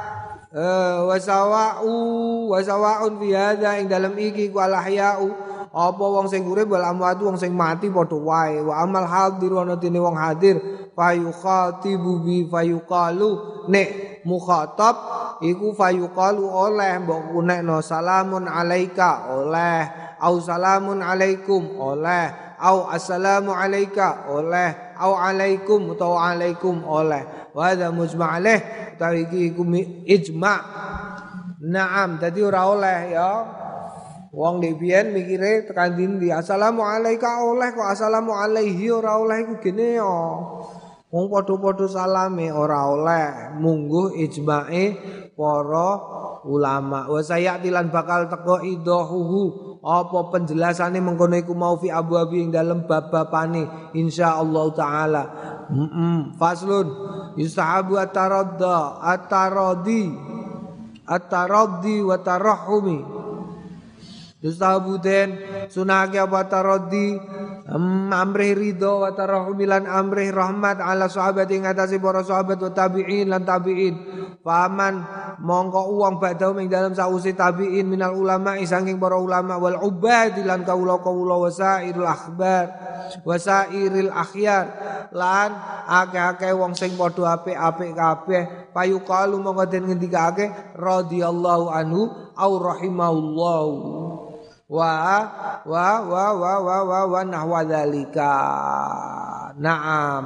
Wa sawa'u wa sawaun fi hadza ing dalem iki ku al ahya'u. Apa wong sing urip wal amwat wong sing mati padha wae. Wa amal hadir ana dene wong hadir fayukhatibu bi fayuqalu nek mukhatab iku fayuqalu oleh mbok kunekno salamun alaika oleh au salamun alaikum oleh au assalamu alaika oleh au alaikum utawa alaikum oleh wa hadza mujma' alaih utawi iki iku ijma' naam dadi ora oleh ya wong dhewean mikire tekan dindi assalamu alaika oleh kok assalamu alaihi ora oleh iku gene ya wong padha-padha salame ora oleh mungguh ijma'e para ulama wa sayatilan bakal teko idahuhu apa penjelasane mengkono iku mau fi abwabi ing dalem bab-babane insyaallah taala heeh faslun yusahabu ataradda ataradi ataraddi wa tarahumi yusahabu den sunake apa taraddi amrih ridho wa tarahumilan amrih rahmat ala sahabat ing atase para sahabat wa tabi'in lan tabi'in faman mongko uang badau ing dalam sause tabi'in minal ulama saking para ulama wal ubad lan kaula-kaula wasairul akhbar wasairil akhyar lan akeh-akeh wong sing padha apik-apik kabeh payukalu mongko den ngendikake radhiyallahu anhu au rahimahullahu wa wa wa wa wa wa wa nahwa dzalika na'am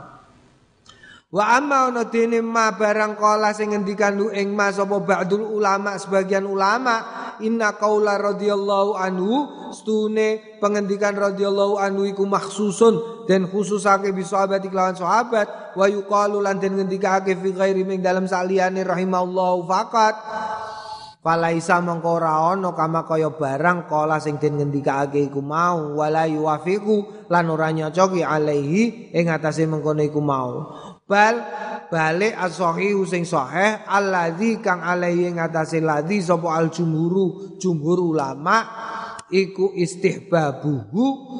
wa amma ana dene ma barang kala sing ngendikan lu ing mas apa ba'dul ulama sebagian ulama inna qaula radhiyallahu anhu stune pengendikan radhiyallahu anhu iku makhsusun dan khususake bi sahabat iklan sahabat wa yuqalu lan den ngendikake fi ghairi ming dalam saliyane rahimallahu faqat falaisa mongko ora ana kama kaya barang kala sing den ngendikake iku mau wala yuwafiqu lan ora nyocoki alaihi ing atase mengkono iku mau bal balik as-sahih sing sahih allazi kang alaihi ing atase ladzi sapa al jumhuru jumhur ulama iku istihbabuhu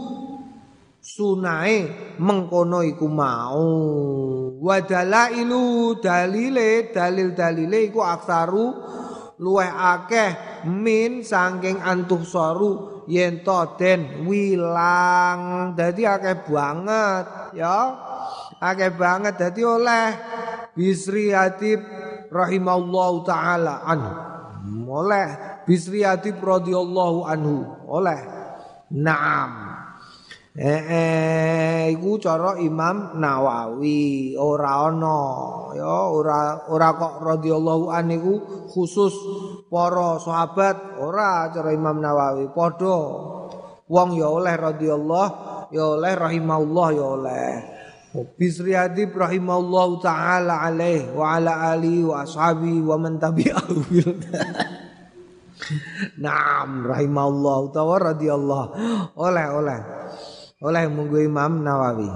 sunae mengkono iku mau wa dalailu dalile dalil-dalile iku aksaru luweh akeh min saking antuh soru yen to den wilang dadi akeh banget ya akeh banget dadi oleh Bisri Hatib rahimallahu taala anhu oleh Bisri Hatib radhiyallahu anhu oleh naam Eh, eh iku cara Imam Nawawi ora ana ya ora ora kok radhiyallahu an niku khusus para sahabat ora cara Imam Nawawi padha wong ya oleh radhiyallahu ya oleh rahimahullah ya oleh Bisri Hatib rahimahullahu taala alaih wa ala alihi wa ashabi wa man tabi'ahu bil Naam rahimahullah utawa radhiyallahu oleh oleh oleh munggu Imam Nawawi.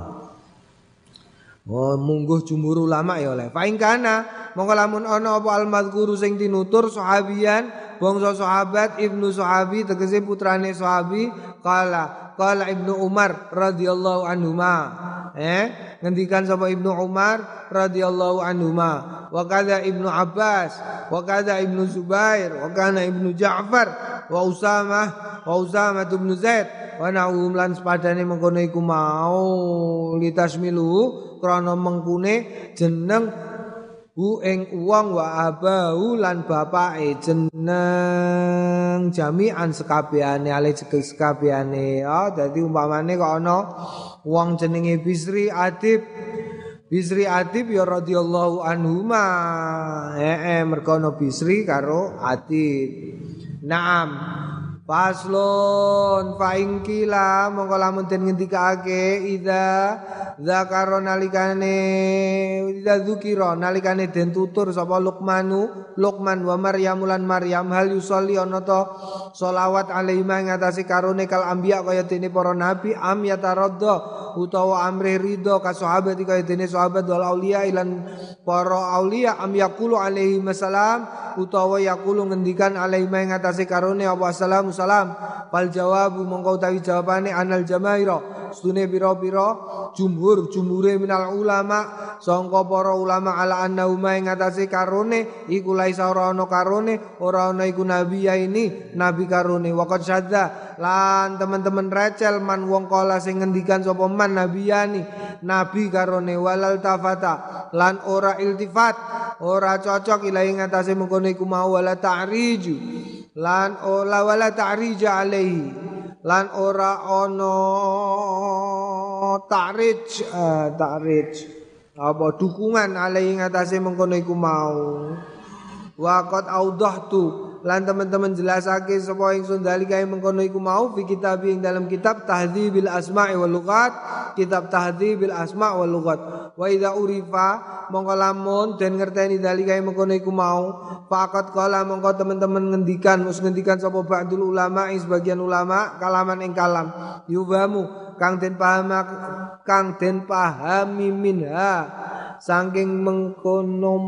Oh munggu jumhur ulama ya oleh. Fa in kana mongko lamun ana apa al-madzkuru sing tinutur sahabian bangsa sahabat Ibnu Sahabi tegese putrane sahabi kala kala Ibnu Umar radhiyallahu anhuma eh ngendikan sapa Ibnu Umar radhiyallahu anhuma wa kadza Ibnu Abbas wa kadza Ibnu Zubair wa kana Ibnu Ja'far wa Usamah wa Usamah bin Zaid wa na'um lan sepadane mengkono iku mau litasmilu krana mengkune jeneng hu ing wong wa abahu lan bapake jeneng jami'an sekabehane ale sekabehane ya dadi umpamane kok ana wong jenenge Bisri Adib Bisri Adib ya radhiyallahu anhuma heeh mergo ana Bisri karo Adib naam Faslon fa'in kila mongko lamun den ngendikake idza zakara nalikane idza dzukira nalikane den tutur sapa Luqmanu Luqman wa Maryam lan Maryam hal yusolli ana ta selawat alaihi ing atase karone kal anbiya kaya dene para nabi am yataradda utawa amre ridho ka sahabat kaya dene sahabat wal auliya ilan para auliya am yaqulu alaihi salam utawa yaqulu ngendikan alaihi ing atase karone apa salam salam fal jawabu mongko utawi jawabane anal jamaira sedune pira-pira jumhur jumhure minal ulama sangka para ulama ala annahu ing atase karone iku laisa ora ana karone ora ana iku nabi ya ini nabi karone waqad syadza lan teman-teman recel man wong kala sing ngendikan sapa man nabiyani nabi karone walal tafata lan ora iltifat ora cocok ilahi ngatasé mengkono iku mau wala ta'riju lan ora wala ta'rija alaihi lan ora ono ta'rij uh, ta'rij apa dukungan alaihi ngatasé mengkono iku mau waqat audahtu lan teman-teman jelasake sapa ingsun dalika mengkono iku mau fi kitab ing dalam kitab Tahdzibil Asma'i wal Lughat kitab Tahdzibil Asma' wal Lughat wa idza urifa mongko lamun den ngerteni dalika mengkono iku mau faqat qala mongko teman-teman ngendikan mus ngendikan sapa ba'dul ulama sebagian ulama kalaman ing kalam yubamu kang den paham kang den pahami minha saking mengkono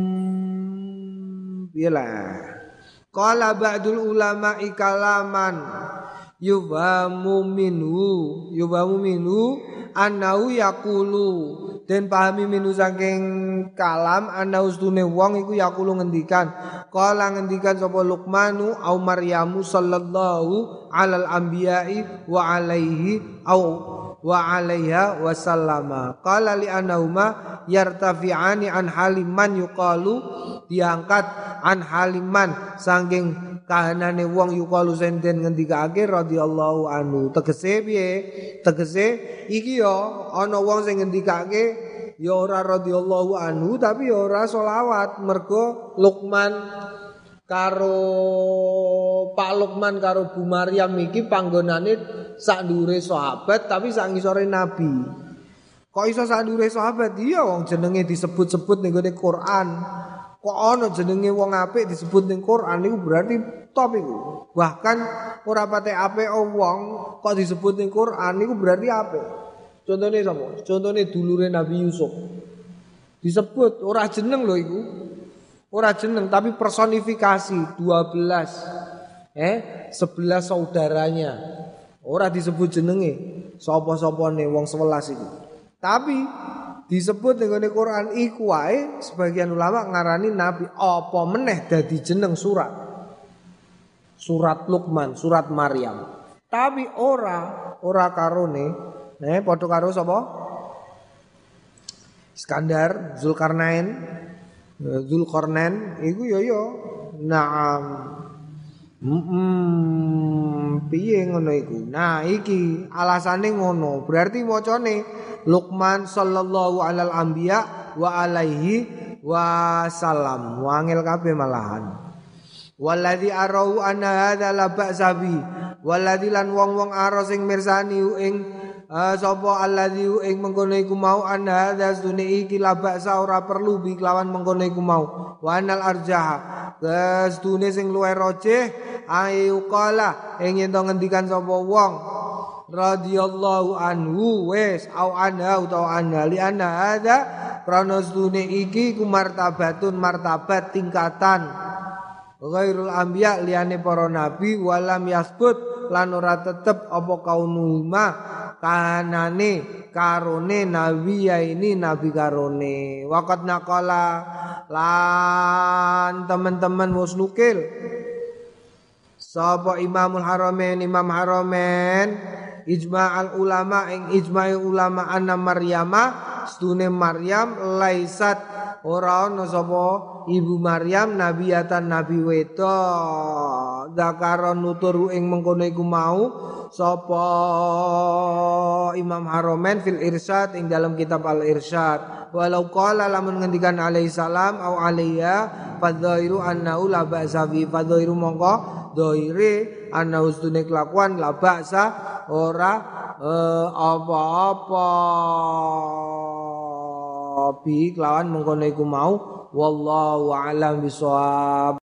piyelah qala ba'dul ulama ikalaman yubamu minhu yubamu minhu annahu yaqulu den pahami minhu saking kalam annahu stune wong iku yaqulu ngendikan qala ngendikan sapa Luqmanu au Maryamu sallallahu alal anbiya'i wa alaihi au wa alaiha wasallama qala li annahuma yartafi'ani an haliman yuqalu diangkat an haliman saking kahanane wong yuqalu senten ngendikake radhiyallahu anhu tegese piye tegese iki ya ana wong sing ngendikake ya ora radhiyallahu anhu tapi ya ora selawat mergo Luqman karo Pak Luqman karo Bu Maryam iki panggonane sak ndure sahabat tapi sak ngisore nabi. Kok iso sak ndure sahabat? Iya wong jenenge disebut-sebut ning gone Quran. Kok ana jenenge wong apik disebut ning Quran niku berarti top iku. Bahkan ora pate apik wong kok disebut ning Quran niku berarti apik. Contone sapa? Contone dulure Nabi Yusuf. Disebut ora jeneng lho iku. Ora jeneng tapi personifikasi dua belas eh sebelas saudaranya. Ora disebut jenenge sapa-sapane wong sebelas itu. Tapi disebut dengan Quran iku wae sebagian ulama ngarani nabi apa meneh dadi jeneng surat. Surat Luqman, surat Maryam. Tapi ora ora karone eh padha karo sapa? Iskandar, Zulkarnain Zulkarnain iku yo yo naam mm piye ngono iku nah iki alasane ngono berarti macane Luqman sallallahu alal anbiya wa alaihi wasallam wangel kabeh malahan waladzi arau anna hadza la ba'sabi waladzi lan wong-wong aro sing mirsani ing Uh, sapa alladzi ing mengkono iku mau ana hadza sunni iki la ba'sa ora perlu bi kelawan mengkono iku mau wa anal arjaha gestune sing luwih rajih ayu qala ing yen to ngendikan sapa wong radhiyallahu anhu wis au anha utawa anha li anna hadza krana sunni iki ku martabatun martabat tingkatan ghairul anbiya liyane para nabi walam yasbut lan ora tetep apa kaunuma kanane karone nabi ya ini nabi karone waqat naqala lan teman-teman wis nukil sapa Imamul Haramain Imam Haramain ijma'al ulama ing ijma'i ulama anna Maryama stune Maryam laisat ora ana sapa ibu Maryam nabiyatan nabi wedok zakaron nutur ing mengkono iku mau sapa Imam Haromen fil Irsyad ing dalam kitab Al Irsyad walau qala lamun ngendikan alaihi salam au alaiya fadzairu annahu la ba'sa fi fadzairu mongko dhaire ana ustune kelakuan la ba'sa ora eh, apa-apa bi kelawan mengkono iku mau wallahu a'lam bishawab.